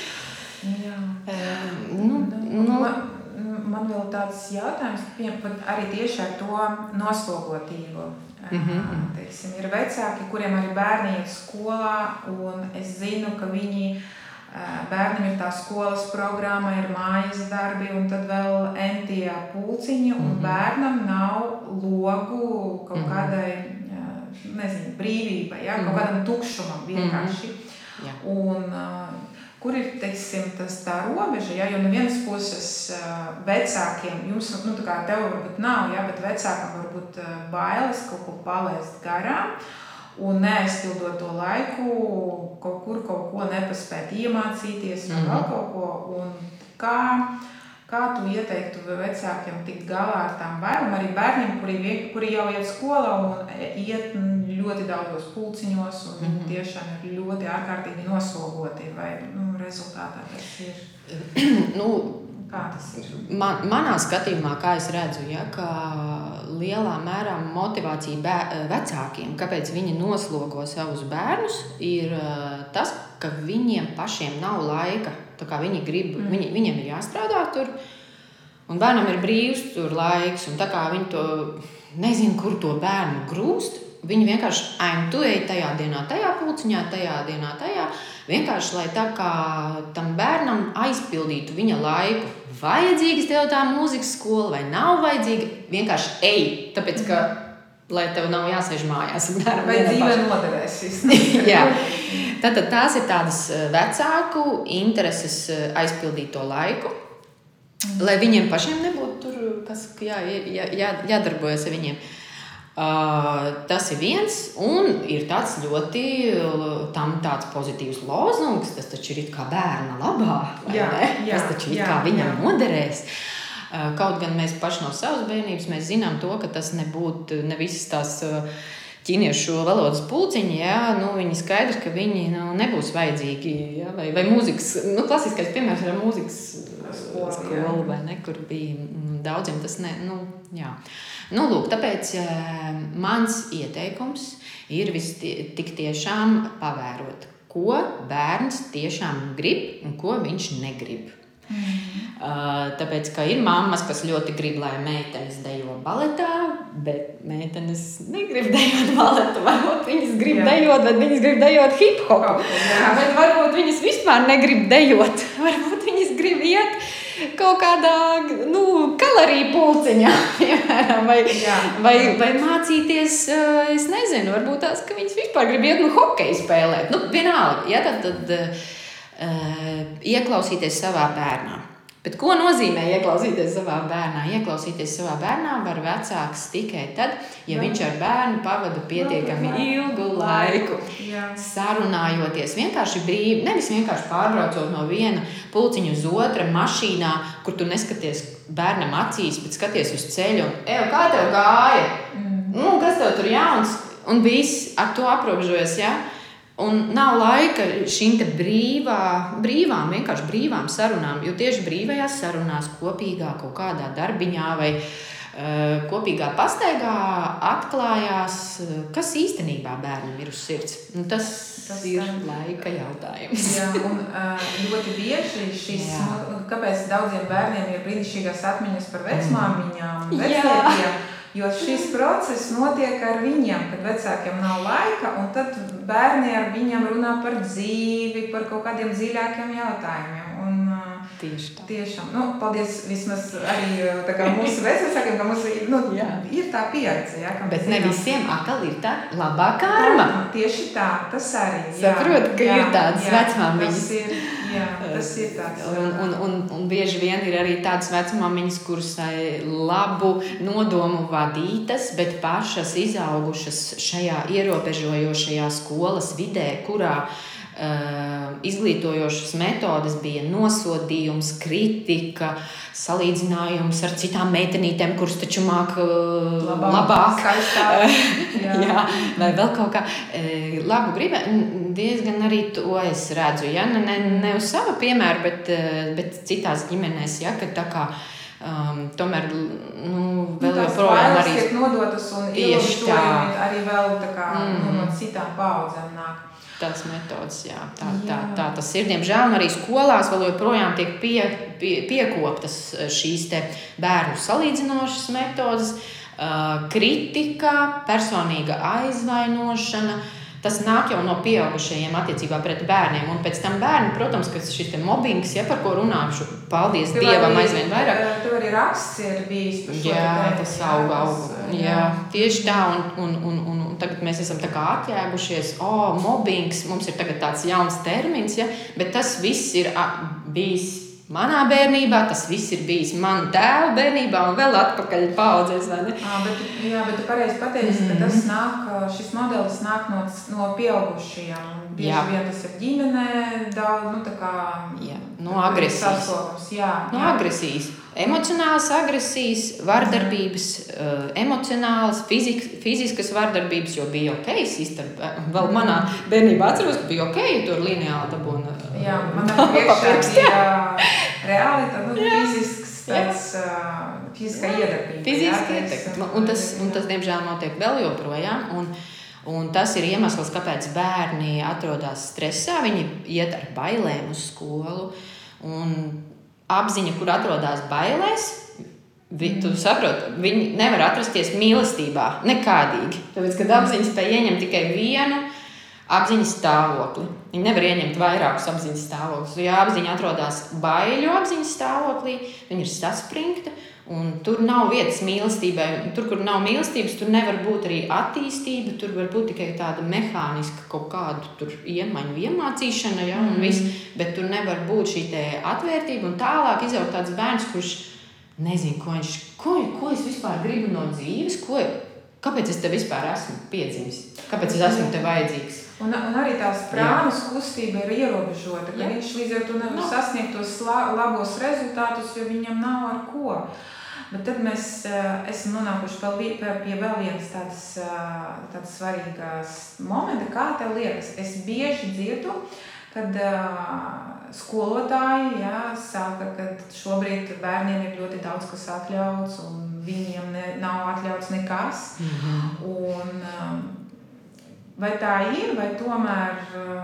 Man vēl tāds jautājums, arī tieši ar to noslogotību. Teiksim, ir vecāki, kuriem arī bērni iet skolā, un es zinu, ka bērnam ir tā skolas programma, ir mājas darbi, un tad vēl entie pulciņi, un bērnam nav logu kaut kādai, brīvībai, kaut kādam tukšumam vienkārši. Un kur ir, teiksim, tā robeža, jo no vienas puses vecākiem, jums, tā kā tev varbūt nav, bet vecākam varbūt bailes kaut ko palaist garām, un neaizpildot to laiku, kaut ko nepaspēt iemācīties, vai vēl kaut ko. Un kā tu ieteiktu vecākiem tikt galā ar tām bailēm, arī bērniem, kuri jau iet skolā un iet ļoti daudzos pulciņos, un viņi tiešām ir ļoti ārkārtīgi noslogoti, vai rezultātā tas ir? Kā tas ir? Manā skatījumā, kā es redzu, ka lielā mērā motivācija vecākiem, kāpēc viņi noslogo savus bērnus, ir tas, ka viņiem pašiem nav laika. Tā kā viņi grib, viņiem ir jāstrādā tur, un bērnam ir brīvs tur laiks, un tā kā viņi to nezinu, kur to bērnu grūst, viņi vienkārši tu ej tajā dienā, tajā pulciņā, tajā dienā, tajā. Vienkārši, lai tā kā tam bērnam aizpildītu viņa laiku. Vajadzīgas tev tā mūzikas skola vai nav vajadzīga, vienkārši ej, tāpēc, ka, lai tev nav jāsēž mājās. Vai dzīve noderēs. Jā. Tātad tās ir tādas vecāku intereses aizpildīt to laiku, lai viņiem pašiem nebūtu tur, kas jādarbojas ar viņiem. Tas ir viens, un ir tāds ļoti tāds pozitīvs lozungs, tas taču ir it kā bērna labā, vai ne? Tas taču it kā viņam noderēs. Kaut gan mēs paši no savas bērnības mēs zinām to, ka tas nebūtu ne visas tās ķīniešu valodas pulciņi, viņi skaidrs, ka viņi nebūs vajadzīgi, vai mūzikas, klasiskais piemērs ir mūzikas skola, vai ne, kur bija daudziem tas lūk, tāpēc mans ieteikums ir tik tiešām pavērot, ko bērns tiešām grib un ko viņš negrib. Tāpēc, ka ir mammas, kas ļoti grib, lai meitenes dejo baletā, bet meitenes negrib dejot baletu. Varbūt viņas grib dejot, bet viņas grib dejot hip-hopu. Bet varbūt viņas vispār negrib dejot. Varbūt viņas grib iet kaut kādā kaloriju pulciņā, piemēram, vai mācīties, es nezinu, varbūt tās, ka viņas vispār grib iet hokeju spēlēt. Vienalga, tad ieklausīties savā bērnā. Bet ko nozīmē ieklausīties savā bērnā? Ieklausīties savā bērnā var vecāks tikai tad, ja viņš ar bērnu pavada pietiekami ilgu laiku, sarunājoties vienkārši brīvi, nevis vienkārši pārbraucot no viena pulciņa uz otra mašīnā, kur tu neskaties bērnam acīs, bet skaties uz ceļu un, kā tev gāja? Kas tev tur jauns? Un viss ar to aprobežojas, Un nav laika šīm te vienkārši brīvām sarunām, jo tieši brīvajās sarunās kopīgā kaut kādā darbiņā vai kopīgā pastaigā atklājās, kas īstenībā bērnam ir uz sirds. Tas ir laika jautājums. Un ļoti bieži šis, kāpēc daudziem bērniem ir brīnišķīgās atmiņas par vecmāmiņām, vectētiem, jo šis process notiek ar viņiem, kad vecākiem nav laika, un tad bērni ar viņiem runā par dzīvi, par kaut kādiem dziļākiem jautājumiem. Un, tieši tā. Tiešām, paldies vismaz arī mūsu vecākiem, ka mums ir tā pieredze. Bet ne visiem atkal ir tā labā karma. Tieši tā, tas arī. Saprot, ka ir tādas vecmāmiņas. Jā, tas ir tāds. Un bieži vien ir arī tādas vecmāmiņas, kuras labu nodomu vadītas, bet pašas izaugušas šajā ierobežojošajā skolas vidē, kurā izglītojošas metodes bija nosodījums, kritika, salīdzinājums ar citām meitenītēm, kuras taču māk labāk. Jā, vai vēl kaut kā labu gribu. Diezgan arī to es redzu. Ja? Ne uz sava piemēra, bet citās ģimenēs, ja? Kad tā kā tomēr vēl joprojām arī tiek nodotas un ierobežojumi arī vēl tā kā no citām paudzēm nāk. Tās metodas, jā. Tā tas ir. Diemžēl arī skolās vēl joprojām tiek piekoptas šīs te bērnu salīdzinošas metodas, kritika, personīga aizvainošana. Tas nāk jau no pieaugušajiem attiecībā pret bērniem. Un pēc tam bērni, protams, ka šis te mobbings, ja par ko runāšu, paldies Dievam aizvien vairāk. Tev arī raksts ir bijis par šo. Jā, tas aug. Jā, tieši tā. Un tagad mēs esam tā kā atjēgušies. Mobbings, mums ir tagad tāds jauns termins, ja? Bet tas viss ir bijis manā bērnībā, tas viss ir bijis manu tēvu bērnībā un vēl atpakaļ paudzēs, vai ne? Bet tu pareizi pateici, ka tas nāk, šis modelis nāk no pieaugušajiem. Bieži vien tas ir ģimenē, tā kā... Jā, no agresijas. No agresijas. Emocionālas agresijas, vardarbības, emocionālas, fiziskas vardarbības, jo bija vēl manā bērnībā atceros, ka bija tur lineāli dabūna. Jā, man priekšā bija reāli fiziskā iedarbība. Un tas, diemžēl, notiek vēl joprojām. Un tas ir iemesls, kāpēc bērni atrodas stresā. Viņi iet ar bailēm uz skolu. Un apziņa, kur atrodas bailēs, tu saproti, viņi nevar atrasties mīlestībā nekādīgi. Tāpēc, kad apziņa spēj ieņemt tikai vienu apziņas stāvokli. Viņi nevar ieņemt vairākus apziņas stāvokļus. Ja apziņa atrodas baiļu apziņas stāvoklī, viņa ir saspringta, un tur nav vietas mīlestībai. Tur, kur nav mīlestības, tur nevar būt arī attīstība, tur var būt tikai tāda mehāniska kaut kādu tur iemaņu iemācīšana, ja, un viss, bet tur nevar būt šī te atvērtība, un tālāk izaugt tāds bērns, kurš nezinu, ko es vispār gribu no dzīves, kāpēc es te vispār esmu piedzimis, kāpēc es esmu te vajadzīgs. Un arī tās prānas kustība ir ierobežota, ka viņš līdz ar to nevar sasniegt tos labos rezultātus, jo viņam nav ar ko. Bet tad mēs esam nonākuši pie vēl vienas tādas svarīgās momenta, kā tev liekas. Es bieži dzirdu, kad skolotāji saka, ka šobrīd bērniem ir ļoti daudz kas atļauts un viņiem nav atļauts nekas. Un vai tā ir, vai tomēr,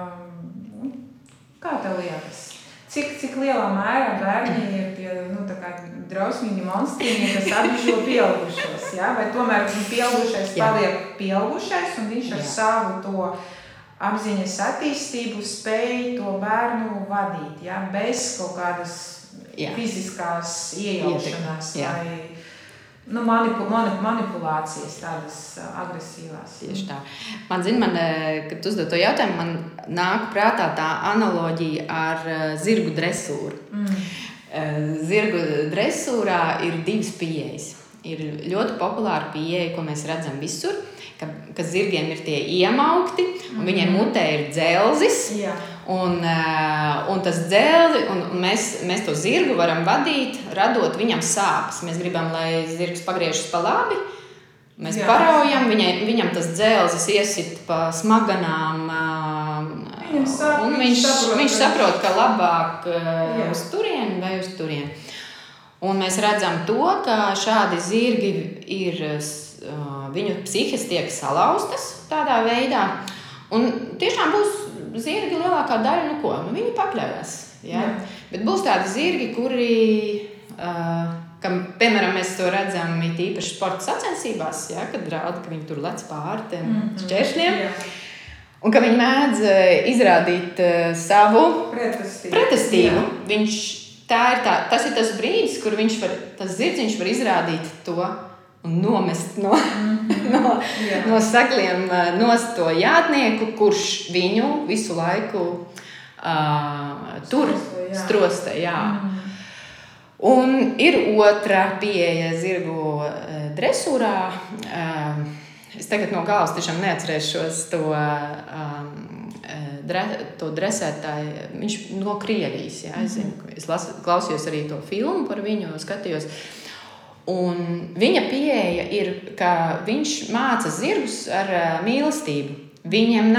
kā tev liekas? Cik lielā mērā bērni ir tie tā kā drausmīgi monstrīni, kas apbižo pieaugušos? Ja? Vai tomēr pieaugušais paliek pieaugušais un viņš ar savu to apziņas attīstību spēj to bērnu vadīt, ja? Bez kaut kādas fiziskās iejaušanās vai manipulācijas tādas agresīvās. Tieši tā. Kad uzdod to jautājumu, man nāk prātā tā analoģija ar zirgu dresūru. Zirgu dresūrā ir divas pieejas. Ir ļoti populāra pieeja, ko mēs redzam visur, ka zirgiem ir tie iemaukti, un viņiem mutē ir dzelzis. Un tas dzelzi, un mēs to zirgu varam vadīt, radot viņam sāpes. Mēs gribam, lai zirgs pagriežas pa labi, mēs paraujam, viņam tas dzelzis iesit pa smaganām, un viņš saprot, ka labāk uz turieni vai uz turieni. Un mēs redzam to, ka šādi zirgi viņu psihes tiek salauztas tādā veidā, un tiešām būs zirgi lielākā daļa, viņi pakļaujas. Ja? Bet būs tādi zirgi, kuri, piemēram, mēs to redzam īpaši sporta sacensībās, ja? Kad rāda, ka viņi tur lec pāri tiem šķēršļiem, un ka viņi mēdz izrādīt savu pretestību. Tas ir tas brīdis, kur tas zirdziņš var izrādīt to un nomest no sagliem nost to jātnieku, kurš viņu visu laiku tur strostē. Un ir otra pieeja zirgu dresūrā. Es tagad no galvas tiešām neatcerēšos to dresētāju. Viņš no Krievijas. Jā, es zinu, es klausījos arī to filmu par viņu, skatījos. Un viņa pieeja ir, ka viņš māca zirgus ar mīlestību. Viņam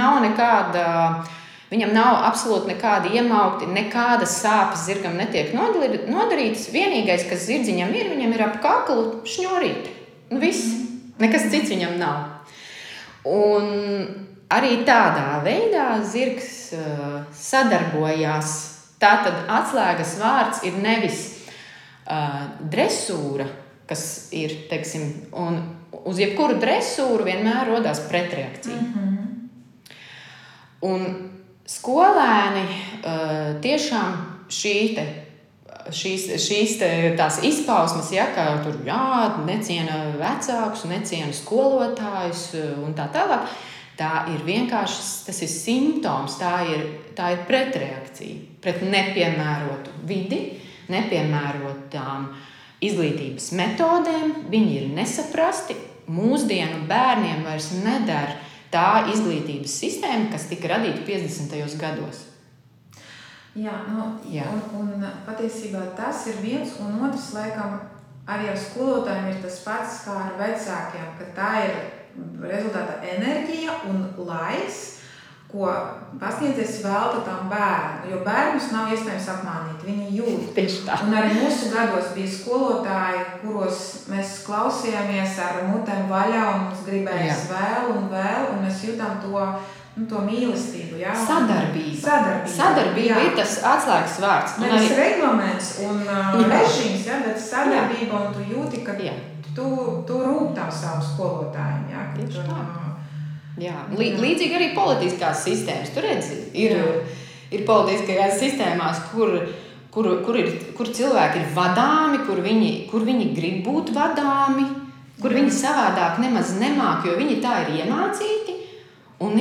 nav absolūti nekādi iemaukti, nekādas sāpes zirgam netiek nodarītas. Vienīgais, kas zirdziņam ir, viņam ir ap kaklu šņurīte. Viss. Nekas cits viņam nav. Un arī tādā veidā zirgs sadarbojās. Tātad atslēgas vārds ir nevis dresūra, kas ir, teiksim, un uz jebkuru dresūru vienmēr rodās pretreakcija. Un skolēni tiešām šīs tās izpausmes, ja, ka tur neciena vecākus, neciena skolotājus un tā tālāk, tā ir vienkārši, tas ir simptoms, tā ir pretreakcija pret nepiemērotu vidi, nepiemērotām izglītības metodēm. Viņi ir nesaprasti. Mūsdienu bērniem vairs nedara tā izglītības sistēma, kas tika radīta 50. gados. Jā. Un patiesībā tas ir viens, un otrs, laikam, arī ar skolotājiem ir tas pats kā ar vecākiem, ka tā ir rezultātā enerģija un laiks, ko pasniedzējs velta tam bērnam. Jo bērnus nav iespējams apmānīt, viņi jūt. Tieši tā. Un arī mūsu gados bija skolotāji, kuros mēs klausījāmies ar mutēm vaļā un mums gribējās vēl, un mēs jutām to mīlestību. Jā? Sadarbība ir tas atslēgas vārds. Nevis reglaments un režīms, bet sadarbība, un tu jūti, ka tu rūp tam savu skolotājiem. Jā? Tieši tā. Jā. Līdzīgi arī politiskās sistēmas. Tur redzi, ir politiskajās sistēmās, kur cilvēki ir vadāmi, kur viņi grib būt vadāmi, kur viņi savādāk nemaz nemāk, jo viņi tā ir iemācīti. Un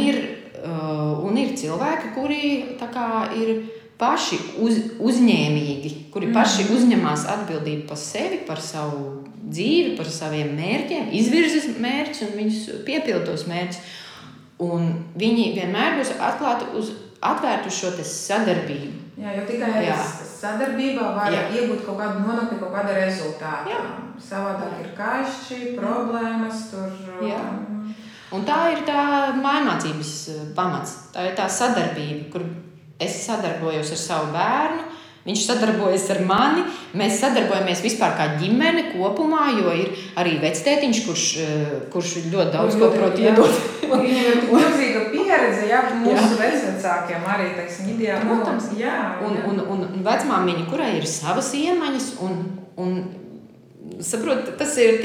ir cilvēki, kuri tā kā ir paši uzņēmīgi, kuri paši uzņemās atbildību par sevi, par savu dzīvi, par saviem mērķiem, izvirzas mērķus un viņus piepildos mērķus. Un viņi vienmēr būs atvērti uz šo sadarbību. Jā, jo tikai sadarbībā var iegūt nonākt pie kaut kāda rezultāta. Savādāk ir kaišķi, problēmas tur. Jā. Un tā ir tā mājmācības pamats. Tā ir tā sadarbība, kur es sadarbojos ar savu bērnu, viņš sadarbojas ar mani, mēs sadarbojamies vispār kā ģimene kopumā, jo ir arī vectētiņš, kurš ļoti daudz ko prot iedot. Viņam ir milzīga pieredze, mūsu vecvecākiem arī, teiksim, ideāli. Protams, un vecmāmiņa, kurai ir savas iemaņas, un saprot, tas ir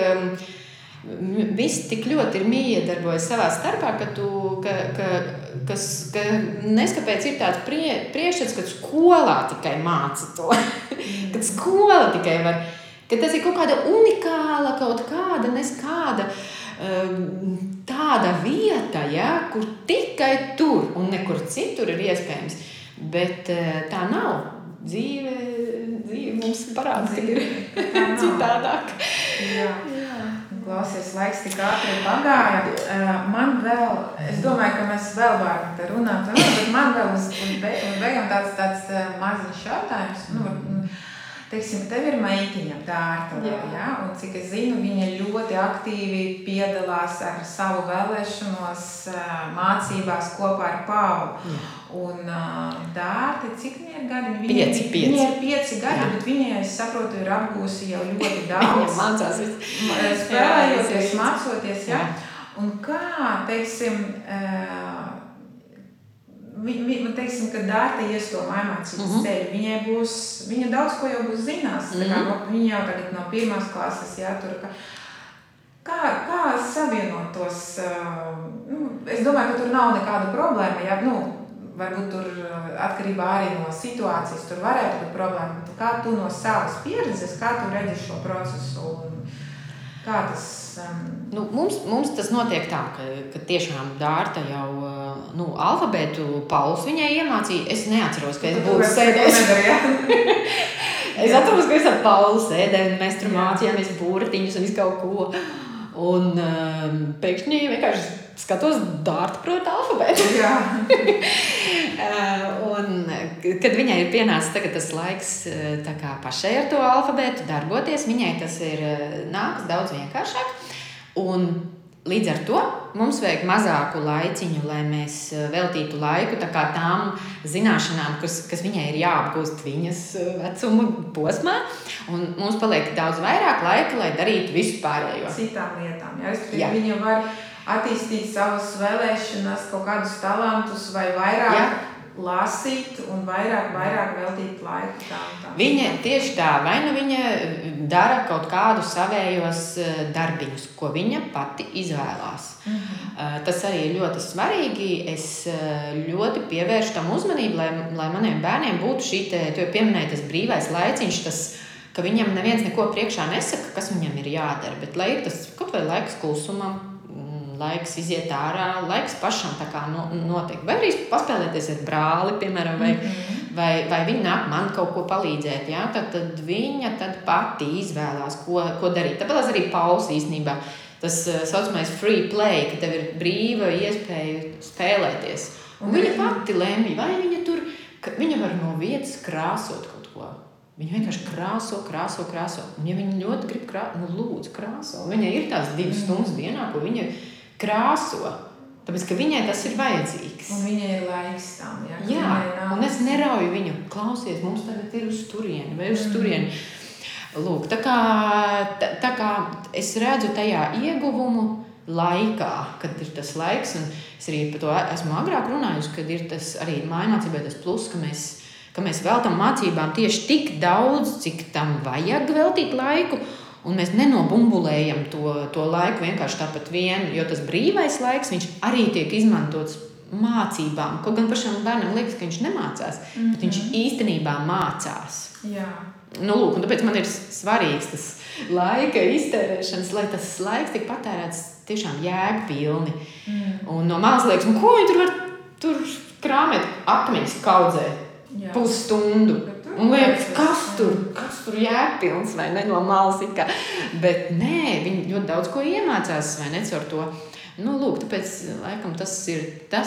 visi tik ļoti ir miedarbojas savā starpā, ka neskapēc ir tāds priekšstats, ka skolā tikai māca to. Kad skola tikai var, ka tas ir kaut kāda unikāla, kaut kāda tāda vieta, kur tikai tur un nekur citur ir iespējams. Bet tā nav. Dzīve mums parāda, ka ir citādāk. Jā. Klausies, laiks tik ātri pagāja. Man vēl, es domāju, ka mēs vēl varam te runāt, bet man vēl uz beigām tāds maziņš jautājums. Teiksim, tev ir meitiņa Dārta, un cik es zinu, viņa ļoti aktīvi piedalās ar savu vēlēšanos mācībās kopā ar Paulu. Un Dārta, cik viņai ir gadi? Viņai ir 5 gadi, bet viņai, es saprotu, ir apgūsi jau ļoti daudz. Viņa mācās spēlējoties, mācoties, Un kā, teiksim, teiksim, ka Dārta ies to mājmācības ceļu, viņa daudz ko jau būs zinās. Viņa jau tagad no 1. klases, tur, kā savienot tos, es domāju, ka tur nav nekāda problēma, varbūt tur atkarībā arī no situācijas tur varētu būt problēma, bet kā tu no savas pieredzes, kā tu redzi šo procesu? Kā tas? Mums tas notiek tā, ka tiešām Dārta jau alfabētu Pauls viņai iemācīja. Es neatceros, ka es būtu sēdējis. Es atceros, ka es ar Paulu sēdēju, un mēs tur mācījāmies burtiņus un visu kaut ko. Un pēkšņi vienkārši skatos, Dārta prot alfabētu. Un, kad viņai ir pienācis tagad tas laiks tā kā pašai ar to alfabētu darboties, viņai tas ir nākas daudz vienkāršāk. Un līdz ar to mums vajag mazāku laiciņu, lai mēs veltītu laiku tā kā tām zināšanām, kas viņai ir jāapgūst viņas vecuma posmā. Un mums paliek daudz vairāk laika, lai darītu visu pārējo. Citām lietām. Viņa var attīstīt savas vēlēšanas, kaut kādus talantus vai vairāk lasīt un vairāk veltīt laiku tām. Viņa tieši tā, vai nu viņa dara kaut kādu savējos darbiņus, ko viņa pati izvēlās. Tas arī ir ļoti svarīgi. Es ļoti pievēršu tam uzmanību, lai maniem bērniem būtu šī tu jau pieminēji tas brīvais laiciņš, tas, ka viņam neviens neko priekšā nesaka, kas viņam ir jādara, bet lai ir tas kaut vai laiks klusumam, laiks iziet ārā, laiks pašam tā kā notiek. Vai arī paspēlēties ar brāli, piemēram, vai viņa nāk man kaut ko palīdzēt. Ja? Tad viņa pati izvēlās, ko darīt. Tāpēc arī Pauls īstenībā tas saucamais free play, ka tev ir brīva iespēja spēlēties. Un viņa pati lemj, vai viņa var no vietas krāsot kaut ko. Viņa vienkārši krāso. Un ja viņa ļoti grib lūdzu krāso. Viņai ir tās 2 stundas dienā, ko viņa krāso, tāpēc, ka viņai tas ir vajadzīgs. Un viņai ir laiks tam, Jā, un es nerauju viņu, klausies, mums tagad ir uz turieni vai uz turieni. Lūk, tā kā es redzu tajā ieguvumu laikā, kad ir tas laiks, un es arī par to esmu agrāk runājusi, kad ir tas arī mājmācībai tas plus, ka mēs veltam mācībām tieši tik daudz, cik tam vajag veltīt laiku, un mēs nenobumbulējam to laiku vienkārši tāpat vien, jo tas brīvais laiks, viņš arī tiek izmantots mācībām. Kaut gan pašam bērnam liekas, ka viņš nemācās, bet viņš īstenībā mācās. Jā. Lūk, un tāpēc man ir svarīgs tas laika iztērēšanas, lai tas laiks tiek patērēts tiešām jēgpilni. Un no malas liekas, ko viņi tur var krāmēt akmeņus kaudzē pusstundu. Un liekas, kas tur jēgpilns vai ne no malas it kā. Bet nē, viņi ļoti daudz ko iemācās vai ne caur to. Lūk, tāpēc laikam tas ir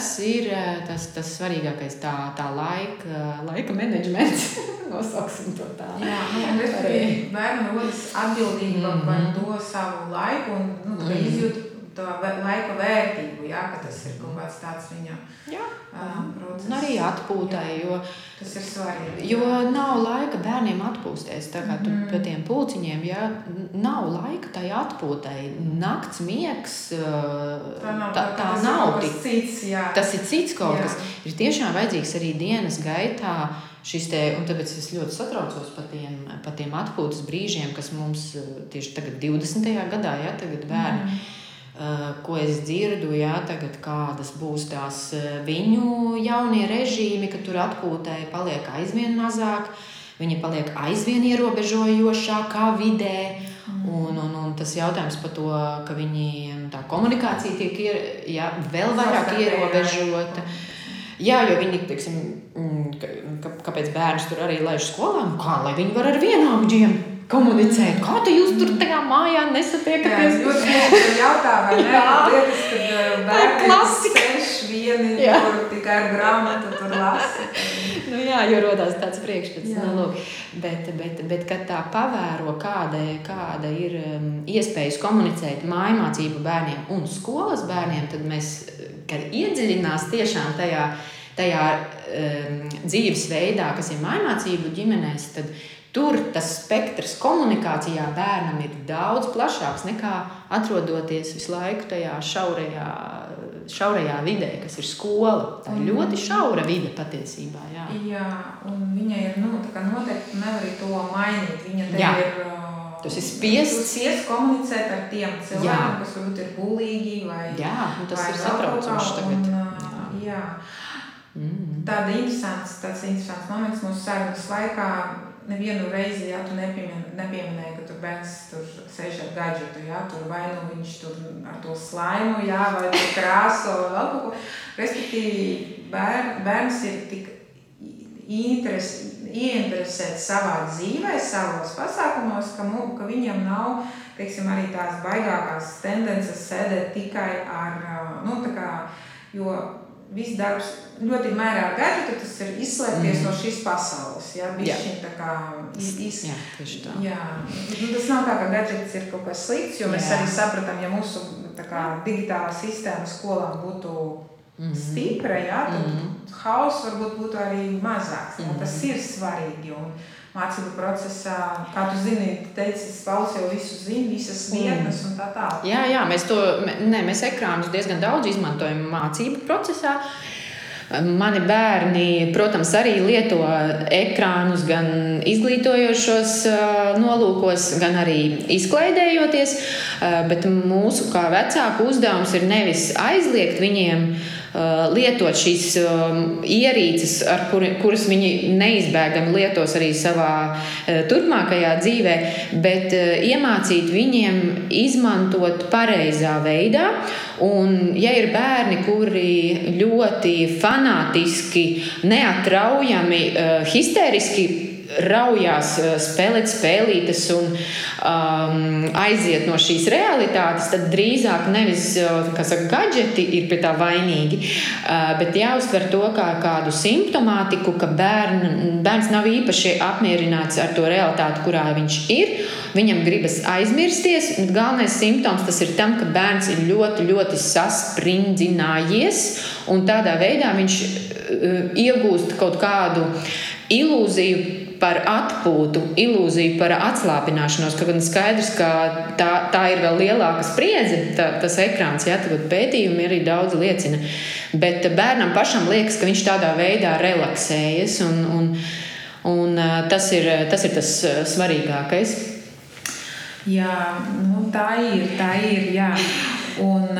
tas svarīgākais tā laika menedžments. Nosauksim to tā. Jā, un es arī bērnam rodas atbildība par to savu laiku un izjūt to laika vērtību, ka tas ir kaut kāds tāds viņam process. Un arī atpūtai, jo tas ir svarīgi. Jo nav laika bērniem atpūsties, tā kā tu pie tiem pulciņiem, nav laika tai atpūtai. Nakts miegs, tā nav tik cits, tas ir cits kaut kas. Ir tiešām vajadzīgs arī dienas gaitā šis un tāpēc es ļoti satraucos par tiem atpūtas brīžiem, kas mums tieši tagad 20. gadā, tagad bērni. Ko es dzirdu, tagad kādas būs tās viņu jaunie režīmi, ka tur atpūtai paliek aizvien mazāk, viņi paliek aizvien ierobežojošākā vidē, un tas jautājums par to, ka viņi tā komunikācija tiek vēl vairāk ierobežota. Jā, jo viņi, teiksim, kāpēc bērns tur arī laiž skolā, kā lai viņi var ar vienaudžiem komunicēt. Kā tu jūs tur tajā mājā nesatiekaties? Jā, ļoti jautā, vai ne? Liekas, kad bērni sēž vieni, kur tikai ar grāmatu tur lasa. Jo rodās tāds priekšstats. Bet kad tā pavēro, kāda ir iespējas komunicēt mājmācību bērniem un skolas bērniem, tad mēs, kad iedziļinās tiešām tajā dzīves veidā, kas ir mājmācību ģimenēs, tad tur tas spektrs komunikācijā bērnam ir daudz plašāks nekā atrodoties visu laiku tajā šaurajā vidē, kas ir skola. Tā ir ļoti šaura vide patiesībā. Jā, un viņa ir, tā kā noteikti nevar to mainīt. Viņa te ir... Tas ir spiests komunicēt ar tiem cilvēkiem, kas varbūt ir bulīgi vai... Jā, tas ir satraucoši tagad. Jā. Tāds interesants moments mūsu sarunas laikā. nevienu reizi, ja tu nepieminēji, ka tur bērns tur sēž ar gadžetu, ja, tur vai nu viņš tur ar to slaimu, ja, vai tur krāso, vai vēl kaut ko. Respektīvi, bērns ir tik ieinteresēts savā dzīvē, savos pasākumos, ka viņam nav, teiksim, arī tās baigākās tendences sēdēt tikai ar, tā kā, jo viss darbs ļoti mērā ar gadžetu, tas ir izslēgties no šīs pasaules, ja, bišķiņ tā kā Jā, tieši tā. Jā, tas nav tā, ka gadžets ir kaut kas slikts, jo mēs arī sapratām, ja mūsu tā kā digitālā sistēma skolām būtu stipra, ja, tad hauss varbūt būtu arī mazāks, ja, tas ir svarīgi, un mācību procesā, kā tu zini, teicis, Pauls jau visu zina, visas vietnes un tā tā. Jā, mēs ekrānus diezgan daudz izmantojam mācību procesā. Mani bērni, protams, arī lieto ekrānus gan izglītojošos nolūkos, gan arī izklaidējoties, bet mūsu kā vecāku uzdevums ir nevis aizliegt viņiem lietot šīs ierīces, kuras viņi neizbēgami lietos arī savā turpmākajā dzīvē, bet iemācīt viņiem izmantot pareizā veidā. Un, ja ir bērni, kuri ļoti fanātiski, neatraujami, histēriski raujās spēlēt spēlītes un aiziet no šīs realitātes, tad drīzāk nevis, gadžeti ir pie tā vainīgi, bet jāuztver to kā kādu simptomātiku, ka bērns nav īpaši apmierināts ar to realitāti, kurā viņš ir. Viņam gribas aizmirsties, un galvenais simptoms tas ir tam, ka bērns ir ļoti, ļoti sasprindzinājies, un tādā veidā viņš iegūst kaut kādu ilūziju par atpūtu, ilūziju par atslābināšanos, ka gan skaidrs, ka tā ir vēl lielāka spriedze, tas ekrāns, jā, tagad pētījumi arī daudz liecina. Bet bērnam pašam liekas, ka viņš tādā veidā relaksējas, un tas ir tas svarīgākais. Jā, tā ir, jā. Un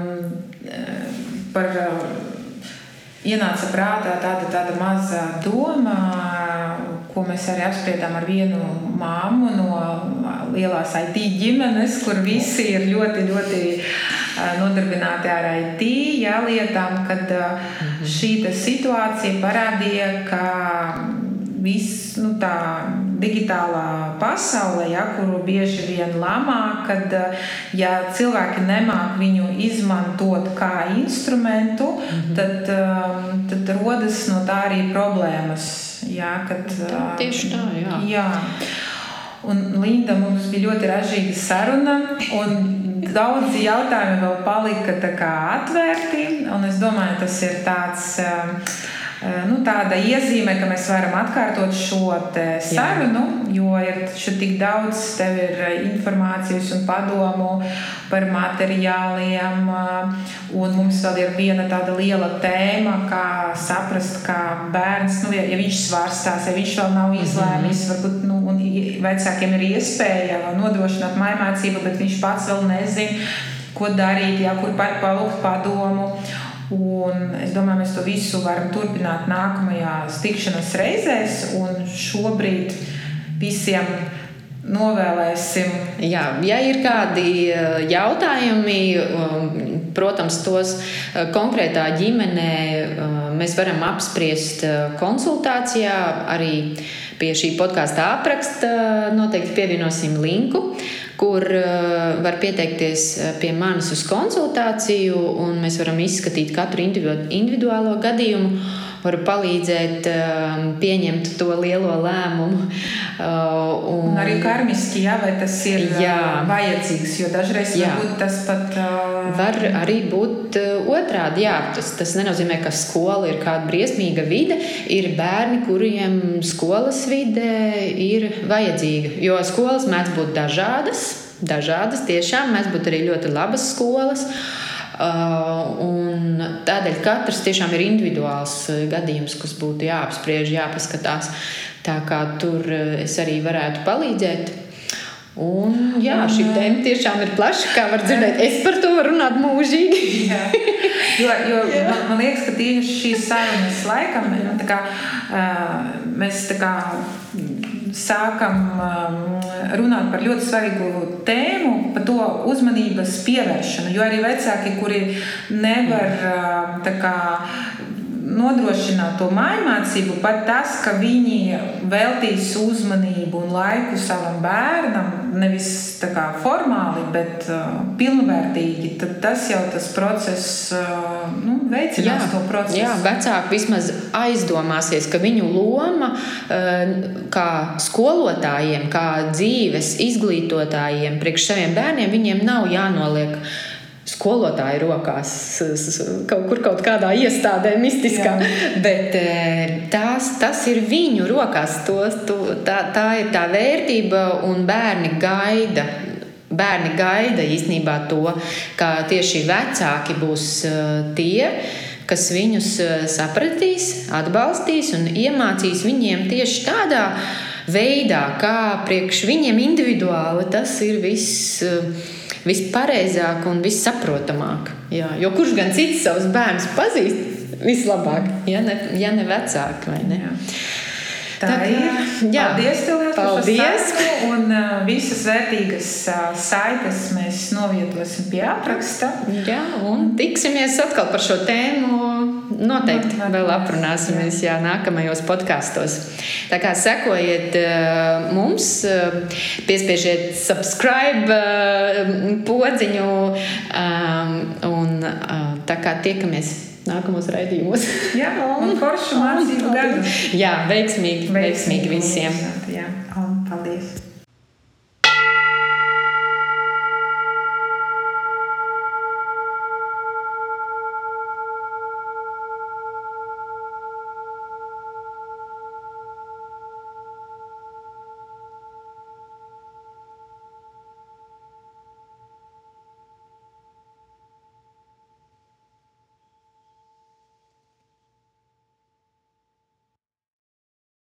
ienāca prātā tāda maza doma, ko mēs arī apspriedām ar vienu māmu no lielās IT ģimenes, kur visi ir ļoti, ļoti nodarbināti ar IT, jā, lietām, kad šī situācija parādīja, ka viss, tā digitālā pasaule, ja, kuru bieži vien lamā, kad ja cilvēki nemāk viņu izmantot kā instrumentu, tad rodas no tā arī problēmas. Ja, kad, tieši tā, jā. Jā. Un Linda, mums bija ļoti ražīga saruna, un daudzi jautājumi vēl palika tā kā atvērti, un es domāju, tas ir tāds tāda iezīme, ka mēs varam atkārtot šo sarunu, jo ir tik daudz, tev ir informācijas un padomu par materiāliem, un mums vēl ir viena tāda liela tēma, kā saprast, kā bērns, ja viņš svārstās, ja viņš vēl nav izlēmis, varbūt, un vecākiem ir iespēja nodrošināt mājmācību, bet viņš pats vēl nezin, ko darīt, ja, kur palūgt padomu. Un es domāju, mēs to visu varam turpināt nākamajās tikšanās reizēs, un šobrīd visiem novēlēsim. Jā, ja ir kādi jautājumi, protams, tos konkrētā ģimenē mēs varam apspriest konsultācijā, arī pie šī podkāsta apraksta noteikti pievienosim linku, kur var pieteikties pie manis uz konsultāciju, un mēs varam izskatīt katru individuālo gadījumu, varu palīdzēt pieņemt to lielo lēmumu. Un arī karmiski, jā, vai tas ir vajadzīgs, jo dažreiz varbūt tas pat... Var arī būt otrādi, jā. Tas nenozīmē, ka skola ir kāda briesmīga vide. Ir bērni, kuriem skolas vide ir vajadzīga, jo skolas mēdz būt dažādas tiešām, mēdz būt arī ļoti labas skolas. Un tādēļ katrs tiešām ir individuāls gadījums, kas būtu jāapspriež, jāpaskatās. Tā kā tur es arī varētu palīdzēt. Un jā, šī tēma tiešām ir plaša, kā var dzirdēt. Es par to varu runāt mūžīgi. Jo man liekas, ka tieši šīs sarunas laikam mēs sākam runāt par ļoti svarīgu tēmu, par to uzmanības pievēršanu. Jo arī vecāki, kuri nevar nodrošināt to mājmācību, pat tas, ka viņi veltīs uzmanību un laiku savam bērnam, nevis formāli, bet pilnvērtīgi, tad tas jau tas process veicinās to procesu. Jā, vecāki vismaz aizdomāsies, ka viņu loma kā skolotājiem, kā dzīves izglītotājiem priekš saviem bērniem, viņiem nav jānoliek skolotāju rokās, kaut kādā iestādē mistiskā, bet tas ir viņu rokās, tā ir tā vērtība, un bērni gaida īstenībā to, ka tieši vecāki būs tie, kas viņus sapratīs, atbalstīs un iemācīs viņiem tieši tādā veidā, kā priekš viņiem individuāli tas ir vispareizāk un vissaprotamāk. Jā, jo kurš gan cits savus bērnus pazīst vislabāk, ja ne vecāki, vai ne? Jā. Tā ir. Paldies tev par šo sarunu, un visas vērtīgas saites mēs novietosim pie apraksta. Jā, un tiksimies atkal par šo tēmu. Noteikti vēl aprunāsimies nākamajos podkastos. Tā kā sekojiet mums, piespiežiet subscribe podziņu, un tā kā tiekamies nākamos raidījumos. Jā, un foršu mācību gadu. Jā, veiksmīgi visiem. Jā, un paldies.